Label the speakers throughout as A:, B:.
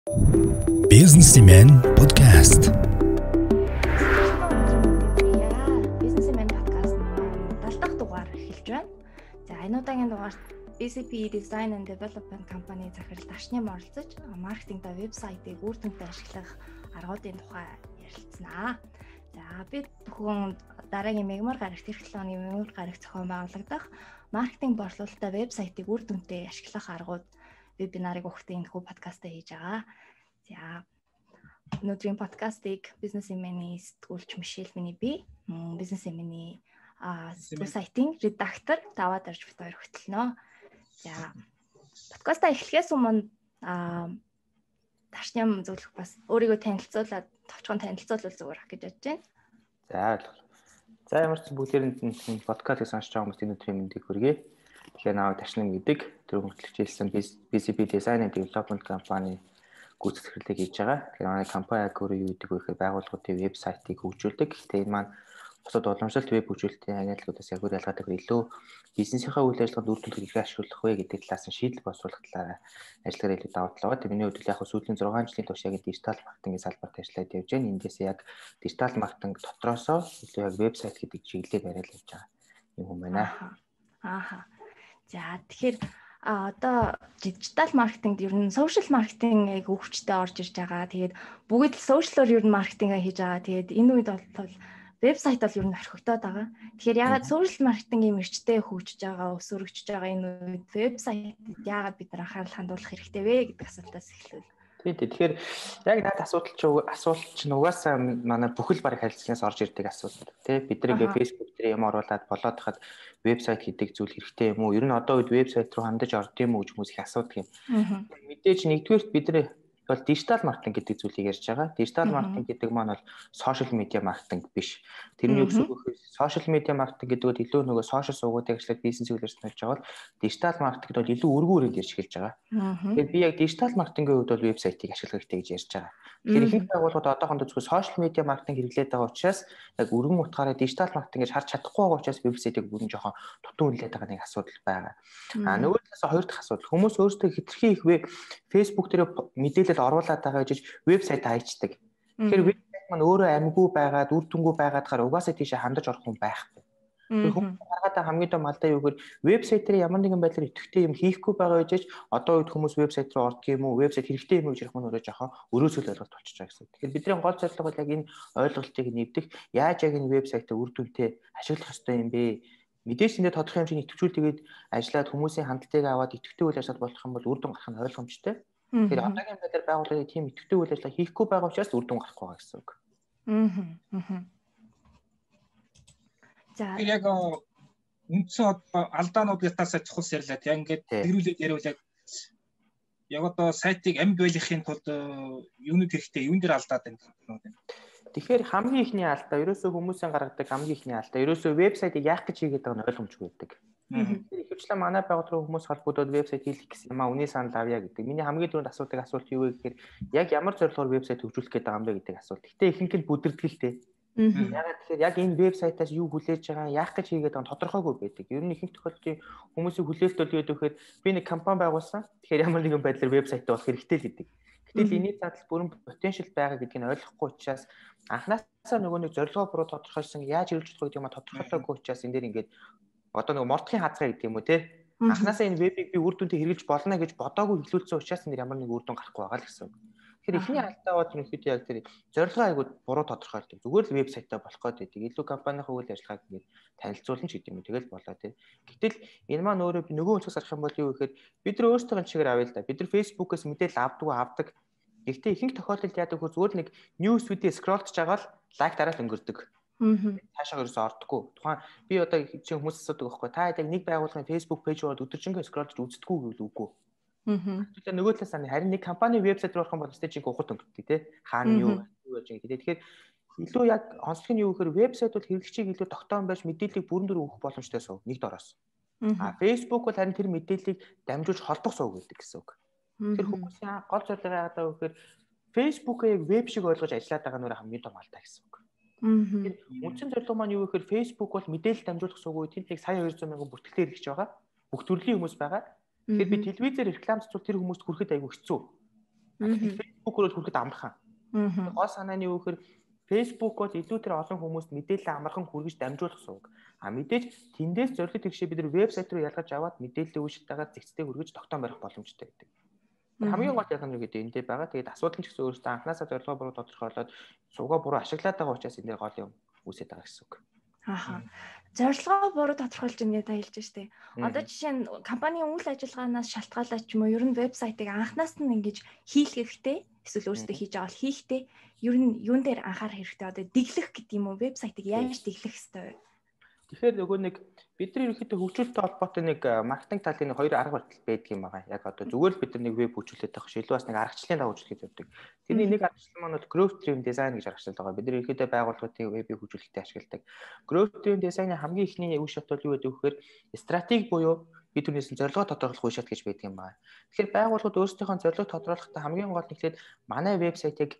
A: Businessman podcast.
B: Businessman podcast маань 70 дахь дугаар эхэлж байна. За энэ удаагийн дугаарт BCP Design and Development компани захирал Дашням оролцож маркетинг ба вебсайтыг үр дүнтэй ашиглах аргуудын тухай ярилцсанаа. За бид бүхэн дараагийн мегмар гарагт эх 7 оны мегмар гарагт зохион байгуулагдах маркетинг борлуулалттай вебсайтыг үр дүнтэй ашиглах аргууд вебинарыг өгөхдөө энэ хүү подкастаа хийж байгаа. За өнөөдрийн подкастыг Businessman-ийн сэтгүүлч Мишель миний би, Businessman-ийн сайтын редактор даваад орж бит хоёр хөтлөнө. За подкастаа эхлэхээс өмнө Дашням зөвлөх бас өөрийгөө танилцуулаад товчхон танилцуулбал зүгээр гэж бодож байна.
C: За ойлгоо. За ямар ч бүгдээрэнд энэ подкастыг сонсож байгаа хүмүүст энэ өдрийн мэндийг хүргэе. Тэгэхээр наваг Дашням гэдэг тэр хөгжлөгч хэлсэн BCP Design and Development компани гүйцэтгэлийг хийж байгаа. Тэгэхээр манай компани яг өөрөө юу гэдэг вэ гэхээр байгууллагуудын вебсайтыг хөгжүүлдэг. Гэхдээ энэ маань бусад уламжлалт веб хөгжүүлэлтийн агентлагуудаас яг өөр ялгаатай илүү бизнесийнхаа үйл ажиллагаанд үр дүнг хэрхэн ашиглах вэ гэдэг талаас нь шийдэл боловсруулах талаараа ажиллагаа илүү давуу тал байгаа. Миний хувьд яг сүүлийн 6 жилийн турш яг дижитал маркетингийн салбарт ажиллаад явж байна. Эндээс яг дижитал маркетинг дотроосоо илүү яг вебсайт гэдэг чиглэлээр яриад явж байгаа юм хүн байна.
B: За тэгэхээр одоо дижитал маркетингд ер нь сошиал маркетинг өвчтөд орж ирж байгаа. Тэгээд бүгд л сошиалор ер нь маркетинг хийж байгаа. Тэгээд энэ үед бол вебсайт бол ер нь орхигдоод байгаа. Тэгэхээр ягаад сошиал маркетингийн мэргэжтэй хөгжиж байгаа, өсөрөгдөж байгаа энэ үед вебсайтэд ягаад бид нар анхаарал хандуулах хэрэгтэй вэ гэдэг асуултаас эхлэв.
C: Тэгэхээр яг надад асуулт чинь угаасаа манай бүхэл бараг харилцагаас орж ирдэг асуулт. Бид нэг Facebook дээр юм оруулаад болоод хахад вебсайт хийдэг зүйл хэрэгтэй юм уу? Ер нь одоо үед вебсайт руу хандаж орд юм уу гэж хүмүүс их асуудаг юм. Мэдээж нэгдүгээрт бид нар бол дижитал маркетинг гэдэг зүйлийг ярьж байгаа. Дижитал маркетинг гэдэг маань бол сошиал медиа маркетинг биш. Тэрний үг гэхээр сошиал медиа маркетинг гэдэг нь илүү нөгөө сошиал сувгуудыг ажиллаад бизнес үйлдвэрлэж болж байгаа бол дижитал маркетингд бол илүү өргөн үрээд ярьж эхэлж байгаа. Тэгэхээр би яг дижитал маркетингийн хувьд бол вебсайтыг ашиглах хэрэгтэй гэж ярьж байгаа. Тэгэхээр ихэнх байгууллагууд одоохондоо зөвхөн сошиал медиа маркетинг хэрэглээд байгаа учраас яг өргөн утгаараа дижитал маркетингээр харж чадахгүй байгаа учраас вебсайтыг бүрэн жоохон дутуу хүлээд байгаа нэг асуудал байгаа. Нөгөө талаас хоёр дахь асуудал хүмүүс өөрсдөө хэтэрхий их Facebook дээр мэдээлэл оруулаад байгаа гэж вебсайт хайчдаг. Тэгэхээр вебсайт маань өөрөө амгүй байгаад үр дүнгүй байгаад гараа угаасаа тийшээ хандаж орох хүн байхгүй. Хүмүүс харахад хамгийн том алдаа юу гэхээр вебсайт дээр ямар нэгэн байдлаар идэвхтэй юм хийхгүй байгаа гэж одоо үед хүмүүс вебсайт руу ордог юм уу, вебсайт хэрэгтэй юм уу гэж ярих маань өөрөө жоохон өрөөсөл ойлголт болчихж байгаа гэсэн. Тэгэхээр бидний гол зорилго бол яг энэ ойлголтыг нэвдэх, яаж яг энэ вебсайтаа үр дүнтэй ашиглах ёстой юм бэ? Мэдээж энэ тодорхой хэмжээний идэвхжүүлэлтэйгээд ажиллаад хүмүүсийн хандлагыг аваад идэвхтэй үйл ажиллагаа болох юм бол үр дүн гарах нь ойлгомжтой. Тэгэхээр одоогийн байдлаар байгууллагын тийм идэвхтэй үйл ажиллагаа хийхгүй байгаа учраас үр дүн гарахгүй байгаа гэсэн үг.
D: За яг үндсэн алдаануудаас чухал ярьлаа. Яг ингээд тэрүүлээд яриул яг одоо сайтыг амьд байлгахын тулд юуны хэрэгтэй, юун дээр алдаад байна гэдэг.
C: Тэгэхээр хамгийн ихний алдаа ерөөсөө хүмүүсийн гаргадаг хамгийн ихний алдаа ерөөсөө вебсайтыг яах гэж хийгээд байгаа нь ойлгомжгүй байдаг. Ихэвчлэн манай байгууллагын хүмүүс холбогдоод вебсайт хийх гэсэн юм үнэ санал авъя гэдэг. Миний хамгийн түрүүнд асуулт юу вэ гэхээр яг ямар зорилгоор вебсайт хөгжүүлэх гэдэг юм бэ гэдэг асуулт. Гэтэ ихэнх нь бүдэрдгэлтэй. Ягаад тэгэхээр яг энэ вебсайтаас юу хүлээж байгаа, яах гэж хийгээд байгаа нь тодорхойгүй байдаг. Ер нь ихэнх тохиолдолд хүмүүсийн хүлээлт бол юу гэхээр би нэг компани байгуулсан. Тэгэхээр ямар нэгэн байдлаар вебсайтаа болох хэрэгтэй л гэдэг. Гэтэл энэний задал бүрэн потенциал байгаа гэдгийг нь ойлгохгүй учраас анхнаасаа нөгөө нэг зорилгоо буруу тодорхойлсон, яаж хэрэгжүүлэх вэ гэдэг юм тодорхойлоогүй учраас энэ дээр ингээд одоо нэг мордхийн хазгай гэдэг юм уу те. Анхнаасаа энэ вебийг би үр дүнтэй хэрэгжиж болно гэж бодоогүй хэлүүлсэн учраас энэ ямар нэг үр дүн гарахгүй байгаа л гэсэн үг. Тэгэхээр эхний алдаа бол ерөнхийдөө яг тэр зорилгоо айгууд буруу тодорхойлдог. Зүгээр л вебсайтаа болох гэдэг. Илүү компанийн үйл ажиллагааг ингээд танилцуулна ч гэдэг юм. Тэгэл болоо тий. Гэтэл энэ маань өөрөө нөгөө өнцгөөс харах юм бол юу гэхээр бид нар өөрсдөө чигээр авъя л да. Бид нар Facebook-ээс мэдээлэл авдаг. Гэхдээ ихэнх тохиолдолд яадаг хөө зүгээр нэг news feed-ийг скроллж байгаа л лайк дараад өнгөрдөг. Цаашаа ерөөсөө ордоггүй. Тухайн би одоо чинь хүмүүс асуудаг байхгүй. Та яг нэг байгууллагын Facebook пэйж руу өдөржингөө скроллж үздэггүй гэвэл үгүй. Тэгэхээр нөгөө талаас нь харин нэг компани вебсайт руу орох юм бол стейжинг ухад өнгөрдөг тий. Хаана юу яаж ингэ. Тэгэхээр илүү яг онцлог нь юу гэхээр вебсайт бол хэрэглэгчийг илүү тогтоон байж мэдээллийг бүрэн дүр өгөх боломжтой суув нэг дороос. Facebook бол харин тэр мэдээллийг дамжуулж холбох суув гэдэг гэсэн үг. Тэр хүмүүсийн гол зорилго яагаад вэ гэхээр Facebook-ыг веб шиг ойлгож ажиллаад байгаа нөр хамгийн том алдаа гэсэн үг. Үндсэн зорилго маань юу гэхээр Facebook бол мэдээлэл дамжуулах суугүй тэнд нэг сая 200 мянган бүртгэлтэй хэрэгж байгаа. Бүх төрлийн хүмүүс байгаа. Тэгэхээр би телевизээр реклам цэцүүл тэр хүмүүст хүрэхэд айгүй хэцүү. Facebook руу хүлээд амархан. Гол санаа нь юу гэхээр Facebook-оор илүү тэр олон хүмүүст мэдээлэл амархан хүргэж дамжуулах сувг. Мэдээж тэндээс зорилт тэгшээ бид нар вебсайт руу ялгаж аваад мэдээллийн үйлчлэлтэйгээр зэгцтэй хүргэж тогтоом барих боломжтой гэдэг. Хамгийн гол ялгаа нь юу гэдэг эндээ байгаа. Тэгээд асуудал нь ч гэсэн өөрөөсөө анханасаа зорилгоо буруу тодорхойлоод сувгаа буруу ашиглаад байгаа учраас энэ гол юм үүсэж байгаа гэсэн үг.
B: Зорилгоо буруу тодорхойлж ингээд та хэлж штэ. Одоо жишээ нь компанийн үйл ажиллагаанаас шалтгаалаад ч юм уу ер нь вебсайтыг анханаас нь ингэж хийх хэрэгтэй. Эсвэл өөрсдөө хийж байгаа бол хийхдээ ер нь юун дээр анхаарах хэрэгтэй. Одоо дэглэх гэдэг юм уу? Вебсайтыг яаж дэглэх хэрэгтэй вэ?
C: Тэгэхээр нөгөө нэг бидний ерөнхийдөө хөгжүүлэлттэй холбоотой нэг маркетинг талын хоёр арга барил байдаг юм байна. Яг одоо зүгээр л бид нар нэг веб хөгжүүлээд байх шилүү бас нэг аргачлалын дагуу хөгжүүлээд явдаг. Тэрний нэг аргачлал маань бол growth driven design гэж аргачлал байгаа. Бид нар ерөнхийдөө байгууллагуудын веб хөгжүүлэлтэд ашигладаг. Growth driven design-ы хамгийн ихний үе шат бол юу гэдэг вэ гэхээр стратеги буюу бид түрнээс нь зорилгоо тодорхойлох үе шат гэж байдаг юм байна. Тэгэхээр байгууллагууд өөрсдийнхөө зорилгоо тодорхойлохдоо хамгийн гол нь ихлээр манай вебсайтыг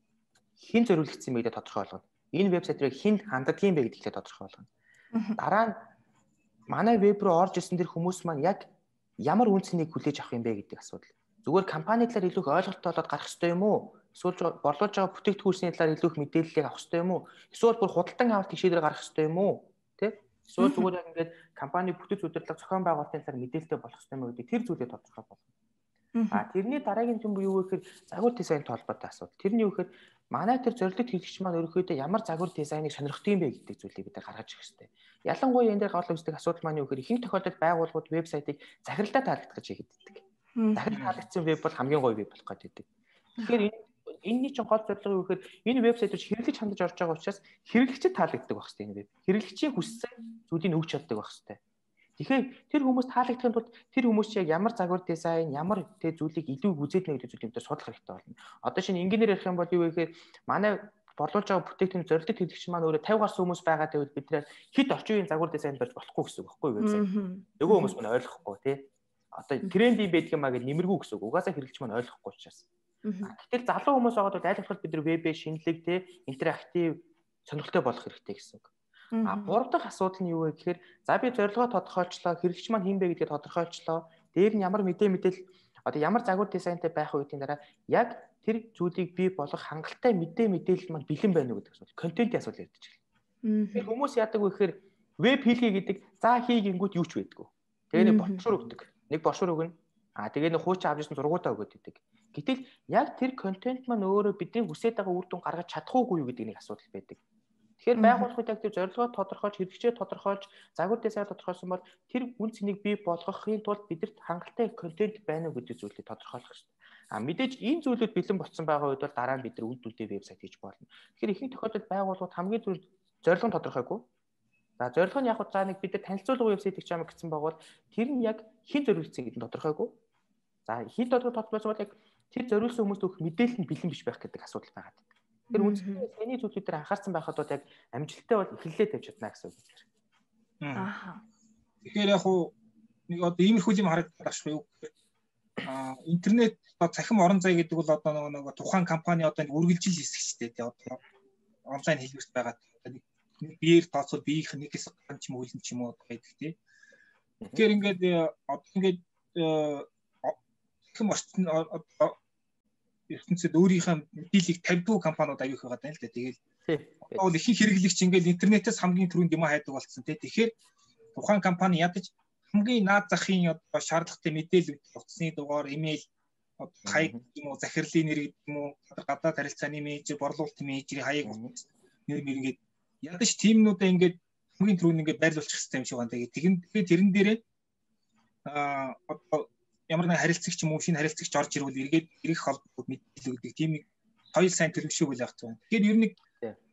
C: хэн зориулагдсан бэ гэдээ тодорхойлгоно. Энэ вебсайт руу хэн ханддаг юм бэ гэдгийг тодорхойлгоно. Дараа нь манай веб руу орж ирсэн тэр хүмүүс маань яг ямар үнцнийг хүлээж авах юм бэ гэдэг асуудал. Зүгээр компани талаар илүү их ойлголттой болоод гарах хэрэгтэй юм уу? Эсвэл борлуулж байгаа бүтээгдэхүүнсний талаар илүү их мэдээллийг авах хэрэгтэй юм уу? Эсвэл бүр худалдан авалт гişээр гарах хэрэгтэй юм уу? Тэ? Эсвэл зүгээр яг ингээд компани бүтэц удирдлага зохион байгуулалтын талаар мэдээлэлтэй болох хэрэгтэй юм уу гэдэг тэр зүйлээ тодорхой болгоно. Тэрний дараагийн юм юу вэ гэхээр загвар дизайнтай холбоотой асуудал. Тэрний юу гэхээр манай тэр зорилт хэрэглэгч маань өөрөөдөө ямар загвар дизайныг сонирхдаг юм бэ гэдэг зүйлийг бид гаргаж ирэх хэрэгтэй. Ялангуяа энэ дээр гол үүсдэг асуудал маань юу гэхээр ихэнх тохиолдолд байгууллагууд вебсайтыг захиралдаа таалагдах гэж хийдэг. Захирал таалагдсан веб бол хамгийн гоё веб болох гэдэг. Тэгэхээр энэний чинь гол зорилго юу гэхээр энэ вебсайт руу хэрэглэгч хандаж орж байгаа учраас хэрэглэгчд таалагддаг байх хэрэгтэй энэ веб. Хэрэглэгчийн хүссэн зүйлийг өгч чаддаг байх хэрэгтэй. Тэгэхээр тэр хүмүүс таалагдахын тулд тэр хүмүүс яг ямар загвар дизайн, ямар тэ зүйлийг илүү үзээд нэ гэдэг зүйлийг судлах хэрэгтэй болно. Одоо шинэ инженеэр ярих юм бол юу вэ гэхээр манай борлуулж байгаа бүтээгдэхүүн зорилт хэрэглэгч маань өөрөө 50 гаруй хүмүүс байгаа гэвэл бид нэр хэд орчин үеийн загвар дизайн барьж болохгүй гэсэн үг байхгүй вебсайт. Нөгөө хүмүүс маань ойлгохгүй тий. Одоо тренд юм байдаг юмаа гэж нэмэргүй гэсэн үг. Угаасаа хэрэглэгч маань ойлгохгүй учраас. Гэтэл залуу хүмүүс байгаа бол аль болох бид нар вебээ шинэлэг тий интерактив сонирхолтой болох хэрэгтэй гэсэн үг. Гурав дахь асуудал нь юу вэ гэхээр за би зорилгоо тодорхойлчлоо, хэрэглэгч маань хин бэ гэдгээ тодорхойлчлоо. Дээр нь ямар мэдээлэл одоо ямар загвар дизайнтай байх үеийн дараа яг тэр зүйлийг бий болгох хангалттай мэдээлэл маань бэлэн байна уу гэдэг асуудал. Контентын асуудал ярьж байна. Тэр хүмүүс яадаг вэ гэхээр веб хийлгээ гэдэг за хийгингүүд юу ч байдгүй. Тэгээ нэг брошюр өгдөг. Нэг брошюр өгнө. Тэгээ нэг хуучин авч ирсэн зургуудаа өгöd идэг. Гэтэл яг тэр контент маань өөрөө бидний хүсэж байгаа үр дүн гаргаж чадахгүй юу гэдэг нэг асуудал байдаг. Тэгэхээр байгууллагууд яг тэр зорилгоо тодорхойлж, хэрэглэгчээ тодорхойлж, загвар дизайн тодорхойлсон бол тэр үн цэнийг бий болгохын тулд бидэрт хангалттай контент байна уу гэдэг зүйлийг тодорхойлох хэрэгтэй. Мэдээж энэ зүйлүүд бэлэн болцсон байгаа үед бол дараа нь бид нар үйл дүндээ вебсайт хийж болно. Тэгэхээр ихэнх тохиолдолд байгууллагууд хамгийн түрүүнд зорилго нь тодорхойгүй. За зорилго нь яг за нэг бид нар танилцуулга вебсайт гэж юм гэсэн байгаа бол тэр нь яг хэн зориулсан гэдэг нь тодорхойгүй. За хэн тодорхойлсон бол яг тэр зориулсан хүмүүст өгөх мэдээлэл нь бэлэн биш байх гэдэг асуудал байгаа. Тэр үнэхээр саний зүйлүүд дээр анхаарсан байхад бол яг амжилттай бол эхлэлээ тавьж чадна гэсэн үг байна.
D: Тэгэхээр яг уу нэг одоо иймэрхүү юм харагдаж байна шүү. Интернет цахим орон зай гэдэг бол одоо нэг тухайн компани одоо нэг үргэлжил хэсэг шүү дээ. Одоо онлайн хэлбэрт байгаа нэг биеэр тооцоод биеийнх нь нэгээс ган ч юм уу үлэн ч юм уу байдаг тий. Тэгэхээр ингээд цахим орчин ертөнцид өөрийнхөө мэдээллийг тавьдаг компаниуд аюух байгаа даа л да. Тэгэл одоо бол ихэнх хэрэглэгч ингээд интернетээс хамгийн түрүүнд юм хайдаг болсон тий. Тэгэхээр тухайн компани ядаж хамгийн наад захын одоо шаардлагатай мэдээлэл утасны дугаар, имэйл, хаяг юм уу, захирлын нэр гэдэг юм уу, гадаад харилцааны менежер, борлуулалтын менежерийн хаяг нэр ингээд ядаж тимнүүдээ ингээд хамгийн түрүүнд ингээд байрлуулчих хэрэгтэй юм шиг байна. Тэгээд тэрэн дээрээ одоо ямар нэг харилцагч юм уу, шинэ харилцагч орж ирвэл эргээд ирэх холбоог мэдээлэл өгдөг тийм нэг соёл сайн төлөвшөөг л байх байна. Тэгэхээр ер нь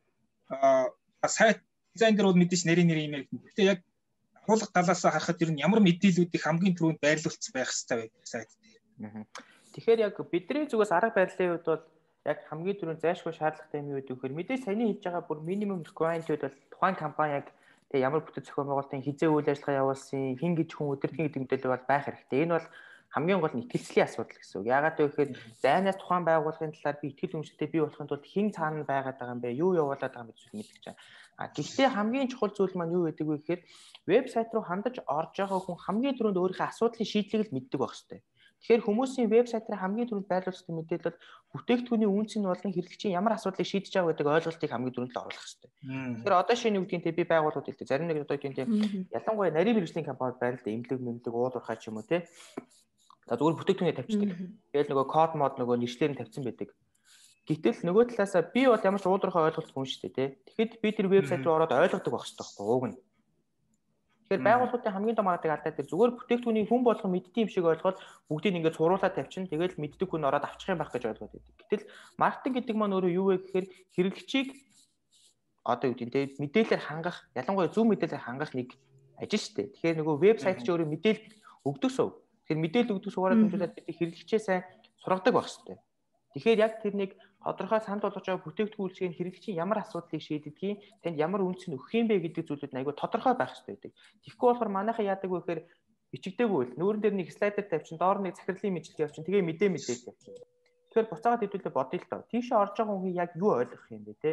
D: сайт дизайн дээр бол мэдээж нэр имэйл гэхдээ яг агуулга талаас харахад ер нь ямар мэдээллүүдийг хамгийн түрүүнд байрлуулсан байх хэрэгтэй байдаг сайт дээр.
C: Тэгэхээр яг бидний зүгээс арга барилын үед бол яг хамгийн түрүүнд зайлшгүй шаардлагатай юм юу гэдэг вэхээр мэдээж саяны хийж байгаа бүр минимум requirement-үүд бол тухайн компани яг тэг ямар бүтэц зохион байгуулалтын хизээ үйл ажиллагаа явуулсан, хин гэж хүн өдөртний гэдэг мэдээлэл бол байх хэрэгтэй. Энэ бол хамгийн гол нь итгэлцлийн асуудал гэсэн үг. Яагаад гэвэл зайнаас тухайн байгууллагын талаар би итгэл үнэмшилтэй бий болохын тулд хэн цаана байгаад байгаа юм бэ? Юу явуулаад байгаа юм бэ гэж мэдэх чинь. Гэхдээ хамгийн чухал зүйл маань юу гэдэг вэ гэхээр вебсайт руу хандаж орж байгаа хүн хамгийн түрүүнд өөрийнхөө асуудлын шийдлийг л мэддэг байх хэрэгтэй. Тэгэхээр хүмүүсийн вебсайтаар хамгийн түрүүнд байрлуулсан мэдээлэл бүтээгдэхүүний үнц нь болон хэрэглэгчийн ямар асуудлыг шийдэж байгаа гэдэг ойлголтыг хамгийн түрүүнд л оруулах хэрэгтэй. Тэгэхээр одоо шинэ үгдийн би байгууллагууд хэлдэг. Зарим нэг одоо тийм ялангуяа нарийн мэргэжлийн компанид байна л да, эмнэлэг уулуурхай ч юм уу те. За зүгээр бүтээгдэхүүнээ тавьчихдаг. Тэгэл нөгөө код мод нөгөө нэршлэр нь тавьсан байдаг. Гэтэл нөгөө талаасаа би бол ямар ч уулуурхай ойлголт хүн шүү дээ те. Тэгэхэд би тэр вебсайт руу ороод ойлгодог байх хэрэгтэй байхгүй ууг нь. Тэгэхээр байгууллагуудын хамгийн том алдаа тэр зүгээр бүтээгдэхүүнийг хүн болгон мэддэг юм шиг ойлгоод бүгдийг ингээд цууруулаад тавьчихна. Тэгэл мэддэг хүн ороод авчих юм байх гэж ойлгоод байдаг. Гэтэл маркетинг гэдэг маань өөрөө юу вэ гэхээр хэрэглэгчийг одоо юу гэдэг нь мэдээлэлээр хангах, ялангуяа зөв мэдээлэлээр хангах нэг ажил шүү дээ. Тэгэхээр нөгөө вебсайт ч өөрөө мэдээлэл өгдөг сув. Тэгэхээр мэдээлэл өгдөг суугаад хэмжүүлээд бид хэрэглэгчээ сайн сургадаг байх хэрэгтэй. Тэгэхээр яг тэр нэг тодорхой санал болгож байгаа бүтээгдэхүүн үйлчгийн хэрэглэгчийн ямар асуудлыг шийддгийг, танд ямар үнц нь өгөх юм бэ гэдэг зүйлүүд нь айгүй тодорхой байх хэрэгтэй байдаг. Тэгэхгүй болохоор манайхан яадаг вэ гэхээр бичигдээгүй л нүүрэн дээр нэг слайдер тавьчин, доор нэг захирлын мэдлэг явуулчин, тэгээ мэдээлэл тавьчин. Тэгэхээр буцаагаад хэдүүлээ бодъё л доо. Тийшээ орж байгаа хүн яг юу ойлгох юм бэ те?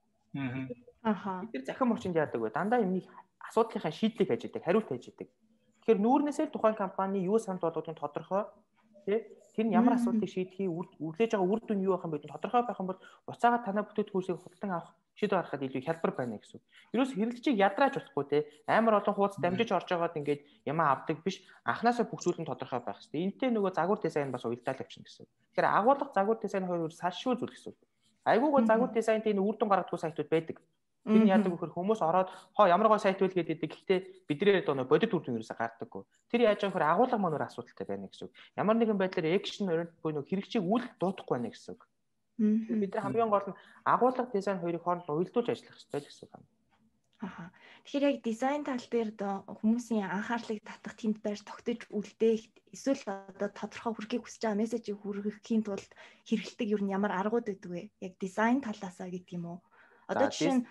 C: Бид тэр захин орчинд яадаг вэ? Дандаа юмний асуудлынхаа шийдлийг хайж идэг, хариулт хайж идэг. Тэгэхээр нүүрнээсээ тухайн компани юу санал болгохын тодорхой тий тэр нь ямар асуудлыг шийдэхийг үрлээж байгаа үр дүн юу байх юм бэ гэдээ тодорхой байх юм бол буцаагаад танай бүтээгдэхүүнсийг худалдан авах шийдвэр гаргахад илүү хялбар байна гэсэн. Ерөөс хэрэглэгчийг ядрааж болохгүй те амар олон хуудас дамжиж орж байгаад ингээд ямаа авдаг биш анханасаа бүх зүйл нь тодорхой байх хэрэгтэй. Энтэй нөгөө загвар дизайн бас уялдаа л авчихна гэсэн. Тэгэхээр агуулга загвар дизайн хоёр салшгүй зүйл гэсэн. Айгуугаа загвар дизайнт энэ үр дүн гаргадаг сайтууд байдаг. Тэр нь яадаг вөхөр хүмүүс ороод ямар гой сайт вэ гэдэг. Гэхдээ бидний одоо бодит үр дүн ерөөсө гардаггүй. Тэр яаж байгаа вөхөр агуулга маань өөр асуудалтай байна гэсэн. Ямар нэгэн байдлаар экшн буюу хэрэгчийг үл дуудахгүй байна гэсэн. Бид нар хамгийн гол нь агуулга дизайн хоёрыг хооронд уялдуулж ажиллах хэрэгтэй гэсэн юм.
B: Тэгэхээр яг дизайн тал дээр хүмүүсийн анхаарлыг татах тэнд байр тогтож үлдээх эсвэл одоо тодорхой хүрхийг хүсэж байгаа мессежийг хүргэхийн тулд хэрэгэлдэг юу ямар аргууд байдаг вэ? Яг дизайн талаасаа гэдэг юм уу? Одоо жишээ нь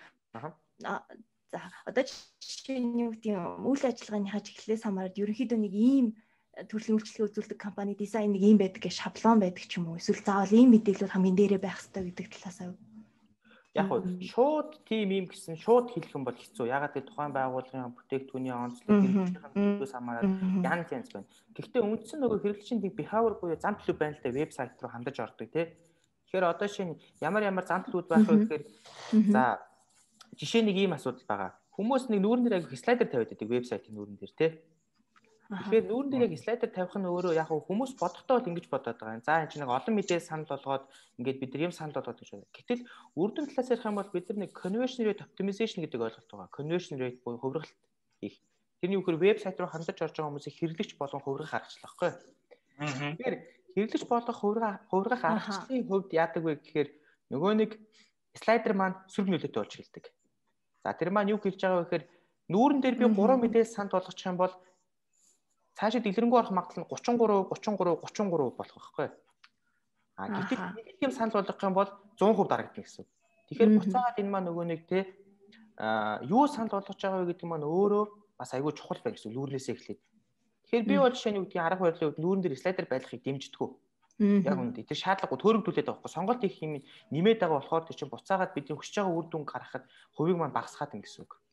B: за одоо жишээ нь юу гэдэг юм үйл ажиллагааны чиглэлээс хамаарат ерөнхийдөө нэг ийм төрлийн үйлчлэгээ үзүүлдэг компани дизайн нэг ийм байдаг гэж шаблон байдаг ч юм уу эсвэл заавал ийм мэдээлэл хамгийн дээрээ байх хэрэгтэй гэдэг талаасаа
C: яг нь шууд тим юм гэсэн шууд хэлэх юм бол хэцүү. Ягаад гэвэл тухайн байгууллагын бүтээгдэхүүний онцлог хэрэглэгчийн хамаарат янз байна. Гэхдээ үндсэн нөгөө хэрэглэгчийн behavior буюу зам төлөв байна л да вебсайт руу хандаж ордог тий. Тэгэхээр одоо шинэ ямар зам төлөвүүд байх вэ гэхээр за жишээ нэг ийм асуудал байгаа. Хүмүүс нэг нүүрэн дээр агих слайдер тавиад байдаг вебсайтын нүүрэн дээр тий. Тэгэхээр нүүрэн дээр яг слайдер тавих нь өөрөө яг хүмүүс бодохдоо л ингэж бодоод байгаа юм. За энэ чинь нэг олон мэдээ санал болгоод ингээд бид нар юм санал болгоод гэж байна. Гэтэл үр дүн талаас ярих юм бол бид нар нэг conversion rate optimization гэдэг ойлголт байгаа. Conversion rate буюу хувиргалт хийх. Тэрний үгээр вебсайт руу хандаж орж байгаа хүмүүсийг хэрэглэгч болгон хувиргах аргачлал байхгүй. Тэгэхээр хэрэглэгч болгох хувиргах аргачлалын хувьд яадаг вэ гэхээр нөгөө нэг слайдер маань сөрөг нөлөөтэй болж эхэлдэг. За тэр маань юу хэлж байгаа вэ гэхээр нүүрэн дээр би 3 мэдээ санал болгочих юм бол цаашаа дэлгэрэнгүй орох магадлал нь 33 болох байхгүй. Гэтэл нэг юм санал болгох юм бол 100% дарагдана гэсэн. Тэгэхээр буцаагаад энэ маань нөгөө нэг те юу санал болгож байгаа вэ гэдэг маань өөрөө бас айгүй чухал байна гэсэн нүүрнээсээ эхлээд. Тэгэхээр би бол жишээ нь үгдгийн арга барилын үед нүүрэн дээр слайдер байдлахыг дэмждэггүй. Яг үнэндээ тэр шаардлагагүй төөрөгдүүлээд байгаа байхгүй. Сонголт их юм нэмээд байгаа болохоор тэр чинь буцаагаад бидний хүсэж байгаа үр дүн гаргахад хувийг маань багасгаад ингэсэн үг.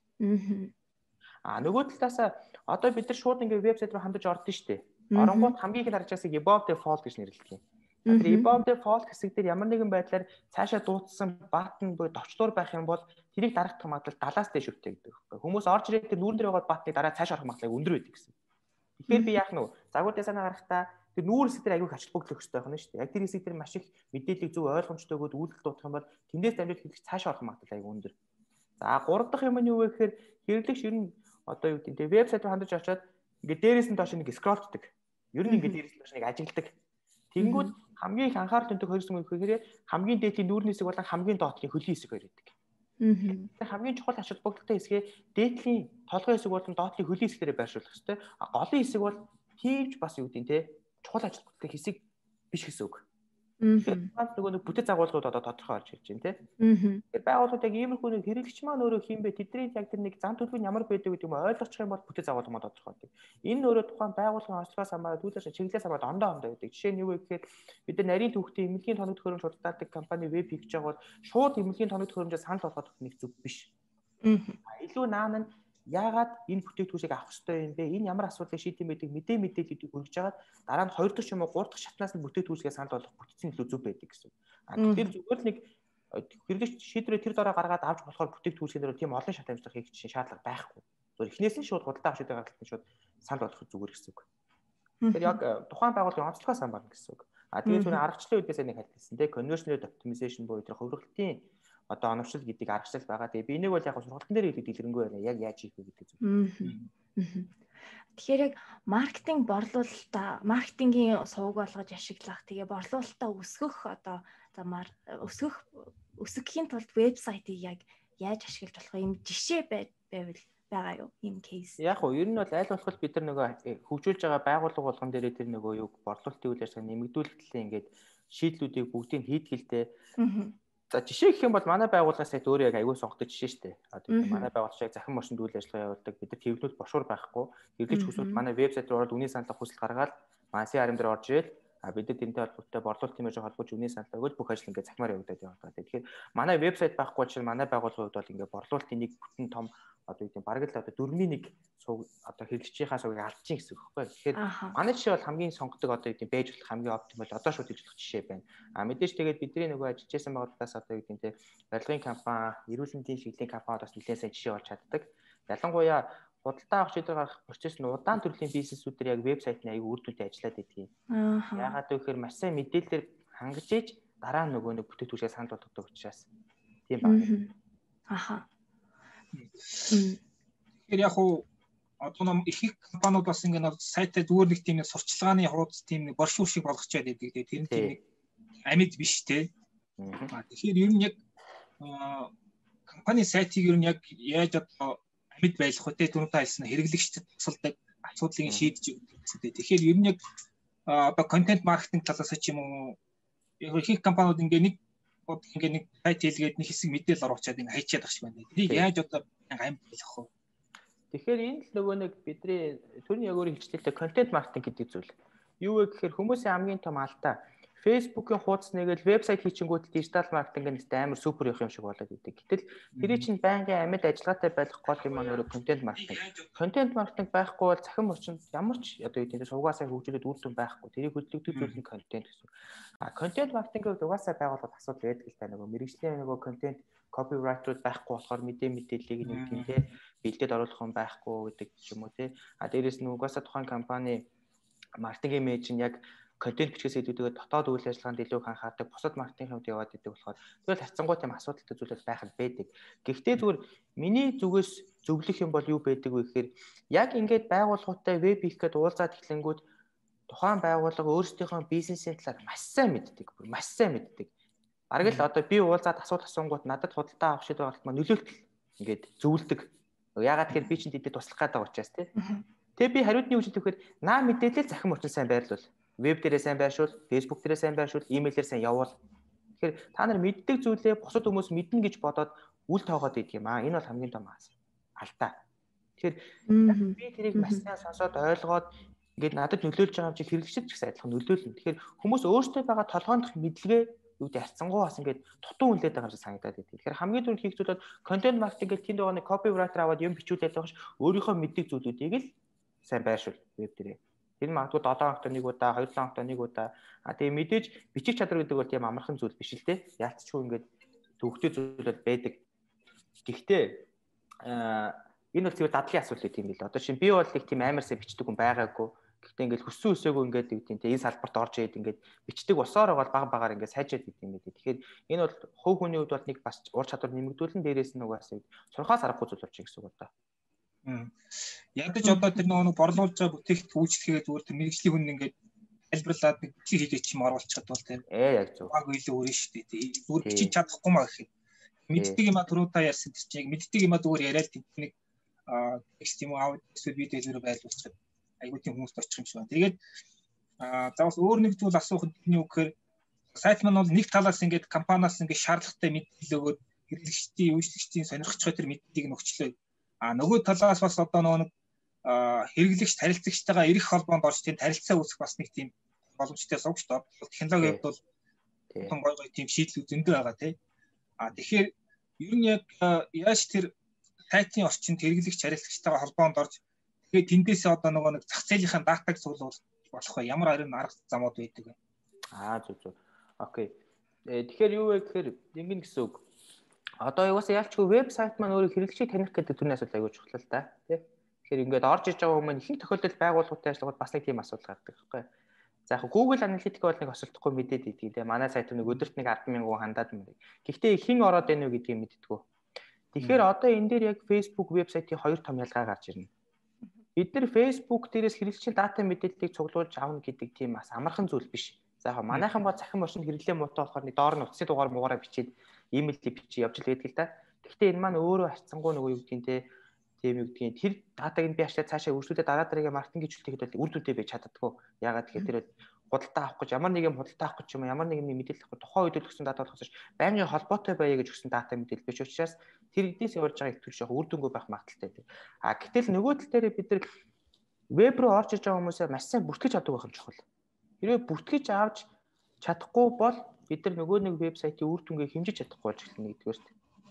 C: Нөгөө талаасаа одоо бид нар шууд ингээ вебсайт руу хандаж ордон шүү дээ. Оронгууд хамгийн их харж байгааг above default гэж нэрлэдэг юм. Тэр above default хэсэг дээр ямар нэгэн байдлаар цаашаа дуутсан баттон буюу товчлуур байх юм бол тэрийг дарагдах магадлал 70-аас дээш өвтэй гэдэг байхгүй. Хүмүүс орж ирээд тэр нүүрэн дээр байгаа баттныг дараа цааш орох магадлал өндөр байдаг гэсэн. Тэгэхээр би яах нь вэ? Загвар дизайнаа гаргахтаа тэр нүүр хэсэг дээр аягүй их ачлал бүгдлөх хэрэгтэй байна шүү дээ. Яг тэр хэсэг дээр маш их мэдээллийг зөв ойлгомжтой өгөөд үйлдэл дуутах юм бол тэндээс дамжуулж хэрэгч цаашаа орох магадлал аягүй өндөр. За 3 дахь юм нь юу вэ гэхээр хэрэглэгч ер нь одоо юу гэдэг нь вебсайт руу хандаж очиод ингээд дээрээс нь доош нэг скроллддаг. Ер нь ингээд дээрээс нь доош нэг ажигладаг. Тэнгүүд хамгийн их анхаарал төндөг хөрсөн юм гэхээр хамгийн дээдлийн нүүрний хэсэг болон хамгийн доотлын хөлийн хэсэг хоёр байдаг. Тэгэхээр хамгийн чухал ач холбогдолтой хэсгээ дээдлийн толгой хэсэг болон доотлын хөлийн хэсгээрээ байршуулах хэрэгтэй. Голын хэсэг бол тийвч бас юу гэдэг нь те чухал ач холбогдолтой хэсэг биш гэсэн үг. Нөгөө нэг бүтэц агуулгууд одоо тодорхой орж ирж байна те. Тэгэхээр байгууллагууд яг иймэрхүү нэг хэрэглэгч маань өөрөө хийм бэ тэдний яг тэр нэг зам төлөв нь ямар байдаг гэдэг юм ойлгочих юм бол бүтэц агуулга маань тодорхой байдаг. Энэ өөрөө тухайн байгууллагын онцлогоос хамаарат үйлчлэгч чиглэлээс хамаарат ондоо байдаг. Жишээ нь юу вэ гэхээр бид нар нарийн төвхтийн эмнэлгийн тоног төхөөрөмж худалдаадаг компани веб хийж байгаа бол шууд эмнэлгийн тоног төхөөрөмжөөс санал болгох нэг зүг биш. Илүү наан нь яагаад энэ бүтээгдэхүүнийг авах ёстой юм бэ? Энэ ямар асуудлыг шийдэм байдаг мэдээллүүдийг хүргэж жагаад дараа нь 2 дахь ч юм уу 3 дахь шатнаас нь бүтээгдэхүүнээ санал болгох бүтцийн илүү зөв байдаг гэсэн. Тэгэхээр зүгээр л нэг хэрэглэгч шийдвэрээ тэр дараа гаргаад авч болохоор бүтээгдэхүүнийн дээр тийм олон шат амжилт хийх шаардлага байхгүй. Зөв эхнээс нь шууд худалдаа авах шийдвэр гаргалтын шууд санал болгох зүгээр гэсэн үг. Тэгэхээр яг тухайн байгууллагын онцлогоо сан байна гэсэн үг. Тэгээд түрүү аргачлалын үдээс нэг хэлсэн те conversion rate optimization буюу тэр хувиргалтын одоо оновчл гэдэг аргачлал байгаа. Тэгээ би энийг бол яг сургалтын дээр хэлээд дэлгэрэнгүй байна. Яг яаж хийх вэ гэдэг зүг.
B: Тэгэхээр яг маркетинг борлуулалтаа маркетингийн сувг болгож ашиглах, тэгээ борлуулалтаа өсгөх одоо замаар өсгөхийн тулд вебсайтыг яг яаж ашиглаж болох юм жишээ байвал байгаа юу? Ийм кейс.
C: Яг уу ер нь бол аль болох бид нар нөгөө хөгжүүлж байгаа байгууллага болгон дээрээ тэр нөгөө юу борлуулалтын үйл ажиллагаа нэмэгдүүлэх төлөө ингээд шийдлүүдийг бүгдийг хийдгэлтэй. За жишээ гэх юм бол манай байгууллагаас яг өөрөө яг аягүй сонгодог жишээ шүү дээ. Одоо манай байгууллага захин машинд үйл ажиллагаа явуулдаг. Бид нар тэвнүүд бошуур байхгүй. Хэрэглэгч хүсвэл манай вебсайт руу ороод үнийн саналаа хүсэлт гаргаад манай CRM дээр орж ирэл бид нар тэнтэй холбоотой борлуулалт тиймэрхүү холбооч үнийн саналаа өгөөд бүх ажил ингээд захимаар явагдаад байгаа. Тэгэхээр манай вебсайт байхгүй учраас манай байгууллагын хувьд бол ингээд борлуулалтын нэг бүтэн том одоо юу гэдэг бараг л одоо 4-1 сувг одоо хэрэглэгчийнхаа сувгийг алдчих гэсэн үг байхгүй. Тэгэхээр манай жишээ бол хамгийн сонгодог одоо юу гэдэг байж болох хамгийн оптимал одоо шууд хийж болох жишээ байна. Мэдээж тэгээд бидний нөгөө ажиллаж байсан байгууллагаас одоо юу гэдэг барилгын компани, эрүүл мэндийн чиглэлийн компаниудаас нэлээд сайн жишээ болж чаддаг. Ялангуяа худалдаа авах шийдвэр гаргах процесс нь удаан төрлийн бизнесүүдээр яг вебсайтны аягүй үр дүнтэй ажиллаад байдгийг. Яагаад гэвэл маш сайн мэдээлэлээр хангаж ээж дараа нь нөгөө нэг бүтээгдэхүүнээ санал болгодог учраас тийм байна. Тэгэхээр яг уу одоо нам их компаниуд бас ингээд сайтаа зүгээр нэг тийм сурчлагын хуудас тийм нэг боршуур шиг болгочоод байдаг. Тэр нь тийм нэг амьд биш те. Тэгэхээр ер нь яг компани сайтыг ер нь яг яаж одоо амьд байлгах вэ? Түрүүн та хэлсэн хэрэглэгчдэд тусалдаг асуудлыг шийдэж өгдөг гэсэн. Тэгэхээр ер нь яг одоо контент маркетинг талаас ч юм уу их компаниуд ингээд нэг сайт хийлгээд нэг хэсэг мэдээлэл оруулчаад ингээд хайчаад ах шиг байна. Тэрийг яаж одоо амьд байлгах вэ? Тэгэхээр энэ л нөгөө нэг бидний түрүүний яг өөрийн хэлжлэлтэй контент маркетинг гэдэг зүйл. Юу вэ гэхээр хүмүүсийн хамгийн том алдаа Facebook-ийн хуудас нэгээл вебсайт хийчингүүд дижитал маркетинг гэдэг амар супер явах юм шиг болоод идэг. Гэтэл тэрий чинь байнгын амьд ажиллагаатай байх гол юм аа нөрө контент маркетинг. Контент маркетинг байхгүй бол захин орчинд ямар ч одоо юу гэдэг сувгаасаа хөгжүүлээд үр дүн байхгүй. Тэрийг хөдөлгдөг зүйл нь контент гэсэн. Контент маркетинг угаасаа байгууллагад асуудал байдаг л та нөгөө мэрэгжлийн нөгөө контент copywriter байхгүй болохоор мэдээллийг нэг тийм те бэлдээд оруулах юм байхгүй гэдэг юм уу те. Дээрээс нь угаасаа тухайн компани маркетинг менежер нь яг контент бичгээс илүүтэйгээр дотоод үйл ажиллагаанд илүү их анхаардаг, бусад маркетингийн хувьд яваад идэг болохоор тэгэл хацсангуй тийм асуудалтай зүйлүүд байх нь байдаг. Гэхдээ зүгээр миний зүгээс зөвлөх юм бол юу байдаг вэ гэхээр яг ингээд байгууллагуудтай веб хийх гээд уулзаад эхлэнгүүд тухайн байгууллага өөрсдийнхөө бизнесийн талаар маш сайн мэддэг. Бараг л одоо би уулзаад асуулт асуунгууд надад худалдаа авах шийдвэр гаргалт маань нөлөөлтөл ингээд зөвлөдөг. Яагаад тэгэхээр би чинь тэдэд туслах гэдэг учраас тий. Тэгээ би хариуд нь юу гэж хэлэхээр наа мэдээлэл захин орчин сайн байрлуул. Веб дээрээ сайн байршуул, Facebook дээрээ сайн байршуул, имэйлээр сайн явуул. Тэгэхээр та нар мэддэг зүйлээ бусад хүмүүс мэднэ гэж бодоод үл тоогоод идэг юм аа. Энэ бол хамгийн том алдаа. Тэгэхээр би тэрийг маш сайн сонсоод ойлгоод ингээд надад нөлөөлж байгаа юм чи хэрэглэгчд ч гэсэн адилхан нөлөөлнө. Тэгэхээр хүмүүс өөрсдөө байгаа толгойнх мэдлэгээ юу гэдэг харцсангуу бас ингээд дутуу үнэлээд байгаа юм шиг санагдаад байдаг. Тэгэхээр хамгийн түрүүнд хийх зүйл бол контент маркетинг гэх тэнд байгаа нэг copywriter аваад юм бичүүлээд байгаа ш өөрийнхөө мэддэг зүйлүүдийг л сайн байршуул веб дээрээ. Тэр магадгүй 7 хоногт нэг удаа, 2-7 хоногт нэг удаа. Тэгээ мэдээж бичих чадвар гэдэг бол тийм амархан зүйл биш л те. Яалтчгүй ингээд төвхтэй зүйлүүд байдаг. Гэхдээ энэ бол зөвхөн дадлын асуудал тийм билээ. Одоо чинь би бол их тийм амарсаа бичдэг хүн байгаагүй. Гэхдээ ингээд хүссэн үсээгүй ингээд тийм те энэ салбарт орж ирээд ингээд бичдэг усаар бол баг-багаар ингээд сайжаад идэв юм байдаг. Тэгэхээр энэ бол хувь хүний хувьд бол нэг бас ур чадвар нэмэгдүүлэн дээрээс нь угаасаа сурхаас аргагүй зүйл болж байгаа гэсэн үг одоо. Ядаж одоо тэр нөгөө борлуулж байгаа бүтээгт үйлчлэгээ зүгээр тэр мэрэгжлийн хүн ингээд тайлбарлаад нэг бичиг хийлээ чим оруулчихад бол тэр яг зөв. Баг илүү өрнө шүү дээ. Зүгээр бичиж чадахгүй маа гэх юм. Мэддэг юм а түрүү та ярьсан тэр чинь мэддэг юм а зүгээр яриад нэг текст юм уу аудио видео зэрэг байлуулчихад айгуу тийм хүмүүст очих юм шиг байна. Тэгээд за бас өөр нэг зүйл асуух нь юу гэхээр сайт маань бол нэг талаас ингээд компаниас ингээд шаардлагатай мэдээлэл өгөөд хэрэглэгчдийн үйлчлэгчдийн сонирхолтой тэр мэдээллийг нь өгчлөө. Нөгөө талаас бас одоо нэг хэрэглэгч харилцагчтайгаа ирэх холбоонд орж тийм харилцаа үүсгэх бас нэг тийм боломжтой сувгч доо. Технологи хувьд бол том гой тийм шийдлүүд зөндөө байгаа тий. Тэгэхээр ер нь яг яаж тэр
D: сайтын орчинд хэрэглэгч харилцагчтайгаа холбоонд орж тэгээд тэндээсээ одоо нөгөө нэг зах зээлийнхаа датаг цуглуулах болох вэ? Ямар арга замууд байдаг вэ?
C: Зүг. Окей. Тэгэхээр юу вэ гэхээр ингэн гэсэн үг. Одоо юусаа ялчгүй вебсайт маань өөрөө хэрэглэгчийг таних гэдэг төрний асуудал аягүй чухал л да. Тэ. Тэгэхээр ингээд орж иж байгаа хүмүүс ихэнх тохиолдолд байгууллагуудын ажиллагууд бас нэг тийм асуудал гардаг байхгүй. За яг Google Analytics бол нэг осолдохгүй мэдээд идэг тийм. Манай сайт нэг өдөрт нэг 10,000 хандаад мөрөг. Гэхдээ хэн ороод байна вэ гэдгийг мэддэггүй. Тэгэхээр одоо энэ дээр яг Facebook вебсайтын хоёр том ялгаа гарч ирнэ. Бид нар Facebook дээрээс хэрэглэгчийн дата мэдээллийг цуглуулж авна гэдэг тийм бас амархан зүйл биш. За яг манайхан бол захин орчинд хэрэглээ муутай болохоор нэг доор нь утасны дугаар муугаараа бичээд имэйлээ бичиж явж л байдаг л да. Гэхдээ энэ маань өөрөө харьцангуй нөгөө юу гэдгийг те тийм юу гэдгийг тэр датаг нь би ачлаа цаашаа өрсөлдөд дараа дараагийн маркетинг хөгжүүлэлтэд бол үр дүндээ байж чаддаггүй. Ягаад гэхээр тэр худалдаа авах гэж ямар нэгэн худалдаа авах гэж юм ямар нэгэн мэдээлэл авах тухайн үед л өгсөн дата болохоос байнгын холбоотой байя гэж өгсөн дата мэдээлэл биш учраас тэр эднээс явж байгаа их төрш яг үр дүнгүй байх магадaltaй байдаг. Гэтэл нөгөө тал дээр бид нар веб руу орж иж байгаа хүмүүсээ маш сайн бүртгэж авдаг байх юм чухал. Хэрвээ бүртгэж авч чадахгүй бол бид нар нөгөө нэг вебсайтын үр дүнгээ хэмжиж чадахгүй болж эхэлнэ нэгдүгээрт.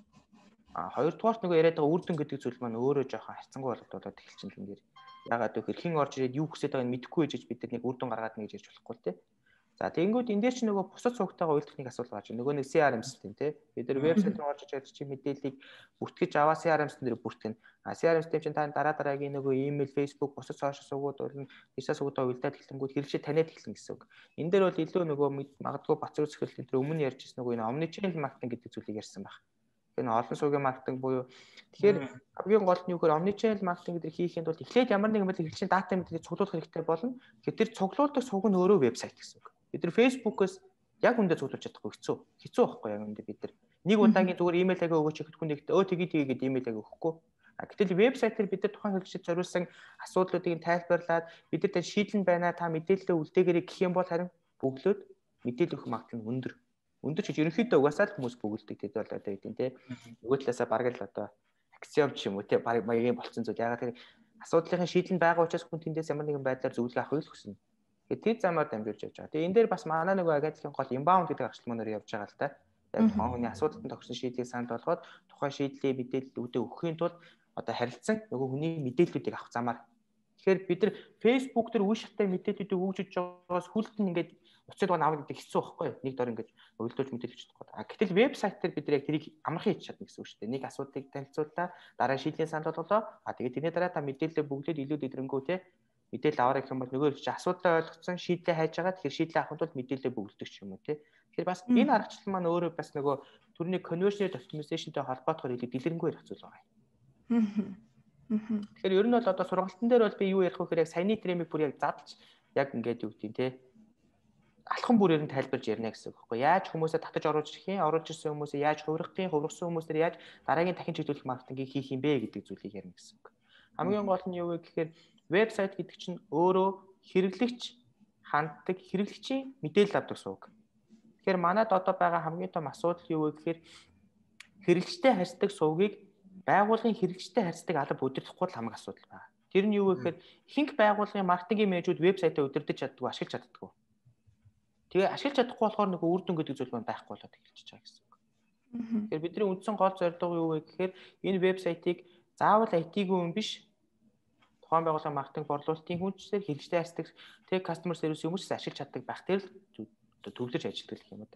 C: Хоёрдугаарт нөгөө яриад байгаа үр дүн гэдэг зүйл маань өөрөө жоохон харьцангуй болоод эхэлчихээн л энэ. Ягаад гэвэл хэн орж ирээд юу хүсэж байгааг нь мэдэхгүй байж бид нар нэг үр дүн гаргаад нэг гэж ярьж болохгүй л тий. За тэгэнгүүт энэ дээр чи нөгөө бусад цугтайгаа уйлдах нэг асуудал гарч байна. Нөгөө нэг CRM систем тий. Бид нар вебсайт руу орж ирээд чи мэдээллийг бүртгэж аваа CRM систем дээр бүртгэн. CRM систем чинь та дараа дараагийн нөгөө email, Facebook, бусад сошиал сувгууд болон дижитал сувгуудаа уйлдаад эхлэнгүүт хэрэглэгчид таниад эхлэн гэсэн үг. Энэ дээр бол илүү нөгөө магадгүй бацруу зөвхөлтөнд тэр өмнө ярьж ирсэн нөгөө энэ omnichannel marketing гэдэг зүйлийг ярьсан байна. Энэ олон сувгийн маркетинг буюу тэгэхээр хамгийн гол нь юу гэхээр omnichannel marketing гэдэг хийхэд бол эхлээд ямар нэгэн байдлаар хэрэглэгчийн дата мэдээллийг цуглуулах хэрэгтэй болно. Тэгэхээр тэр цуглуулдаг сувг нь өөрөө вебсайт гэсэн үг. Бид нар Facebook-оос яг үндэ цуглуулж чадахгүй хэцүү байхгүй яг үндэ бид нар нэг удаагийн зүгээр имэйл ага өгөөч гэхэд хүн нэгт тэгээд имэйл ага өгөхгүй. Гэтэл вебсайтаар бид нар тухайн хэрэглэгчид зориулсан асуудлуудыг тайлбарлаад бид нар шийдэл байна та мэдээлэлээ үлдээгээрэй гэх юм бол харин бөглөөд мэдээлэл өгөх магадлал нь өндөр. Өндөр ч ерөнхийдөө угаасаа л хүмүүс бөглөдөг тэд бол одоо гэдэг тийм нөгөө талаасаа бараг л одоо аксиом ч юм уу тийм бараг маягийн болцсон зүйл ягаад гэвэл асуудлын шийдэл нь байгаа учраас хүн тэндээс ямар нэгэн байдлаар зөвлөгөө авахыг л хүснэ. Тэр замаар дамжуулж явж байгаа. Тэгээ энэ дээр бас манай нөгөө агентлагийн гол inbound гэдэг аргачлалмаар явж байгаа л та. Яг тухайн хүний асуудалд тохирсон шийдлийг санал болгоод тухайн шийдлээ мэдээлэл өгөхийн тулд одоо харилцан нөгөө хүний мэдээллүүдийг авах замаар. Тэгэхээр бид нар Facebook дээр үе шаттай мэдээллүүдийг өгж байгаагаас хүлтэн ингээд уцад гоо авах гэдэг хэцүү байхгүй юу? Нэг дор ингээд өглөөж мэдээлж чадахгүй. Гэтэл вебсайт дээр бид нар яг тэрийг амархан хийж чадна гэсэн үг шүү дээ. Нэг асуудлыг танилцууллаа, дараа шийдлийн санал болголоо. Тэгээд тэрний дараа та мэдээлэлээ бүгдээд илүү дэвтрэнгүү те мэдээлэл аваарай гэх юм бол нөгөө чи асуудлаа ойлгоцсон шийдлээ хайж байгаа. Тэгэхээр шийдлээ авахын тулд мэдээлэлээ бүгддэг ч юм уу те. Тэгэхээр бас энэ аргачлал маань өөрөө бас нөгөө төрний conversion optimization-тэй холбоотойгоор илүү дэлгэрэнгүй ярих зүйл байгаа юм. Тэгэхээр ер нь бол одоо сургалтын дээр бол би юу ярих вэ гэхээр яг саяны тремийг бүр яг задлж яг ингээд юу гэдэг те алхам бүрээр нь тайлбарж ярина гэсэн үг байхгүй яаж хүмүүсээ татаж оруулж ирэх юм оруулж ирсэн хүмүүсээ яаж хувиргах юм хувирсан хүмүүстээр яаж дараагийн дахин чиглүүлэх маркетингийг хийх юм бэ гэдэг зүйлийг ярина гэсэн үг. Хамгийн гол нь юу вэ гэхээр вебсайт гэдэг чинь өөрөө хэрэглэгч ханддаг хэрэглэгчийн мэдээлэл авдаг сувг. Тэгэхээр манайд одоо байгаа хамгийн том асуудал юу вэ гэхээр хэрэглэгчтэй харьцдаг сувгийг байгууллагын хэрэглэгчтэй харьцдаг алба удирдахгүй л хамаг асуудал байна. Тэр нь юу вэ гэхээр ихэнх байгууллагын маркетингийн менежүүд вебсайтаа удирдах чаддгүй ашиглаж чаддаггүй. Тэгээ ашиглаж чадахгүй болохоор нөгөө үр дүн гэдэг зүйл маань байхгүй болоод эхэлчихэж байгаа гэсэн үг. Тэгэхээр бидний үндсэн гол зорилго юу вэ гэхээр энэ вебсайтыг заавал IT-ийн хүн биш тухайн байгууллагын маркетинг борлуулалтын хүнчээр хэрэглэгчтэй харьцдаг тэг customer service хүмүүст ашиглаж чаддаг байх тэр л төвлөрч ажилладаг гэх юм уу та.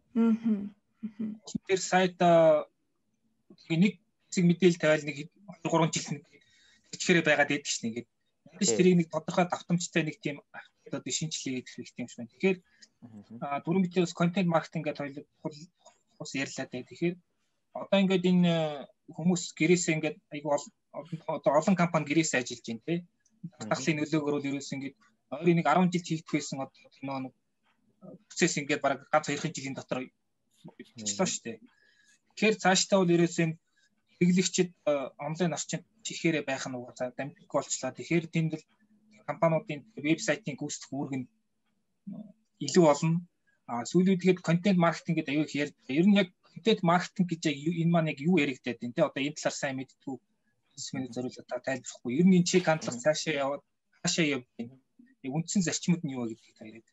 D: Тэр сайт нэг хэсэг мэдээлэл тавиал нэг 3 жил хичээрээ байгаад байдаг шнэ ингээд. Ядаж тэрийг нэг тодорхой давтамжтай нэг тийм одоо шинжилгээ хийх хэрэгтэй юм шиг байна. Тэгэхээр дөрөв мэдээлэл контент маркетинг гэдэг хоёул ус ярьлаа дээ. Тэгэхээр одоо ингээд энэ хүмүүс гэрээсээ ингээд айгүй олон компани гэрээсээ ажиллаж байна тий. Дахлын нөлөөгөөр бол ерөөс ингээд ойрын нэг 10 жил хийх байсан одоо нэг процесс ингээд бараг ганц 2 жилийн дотор болчихлоо шүү дээ. Тэгэхээр цаашдаа бол ерөөс энэ хэрэглэгчид онлайн орчинд чихээрээ байх нь угаасаа дамжиг болчлаа. Тэгэхээр тэнд л компаниудын вебсайтын гүйцэтгэх үүрэг нь илүү болно. Сүүлүүдгээд контент маркетинг гэдэг аюул их ярьдаг. Ер нь яг контент маркетинг гэж яг энэ маань яг юу яригдаад байна те. Одоо энэ талаар сайн мэдтгүү бизнесмен зориулаад тайлбарлахгүй. Ер нь энэ чиг хандлага цаашаа яваад хаашаа явна. Үндсэн зарчмууд нь юу вэ гэдгийг та яриад.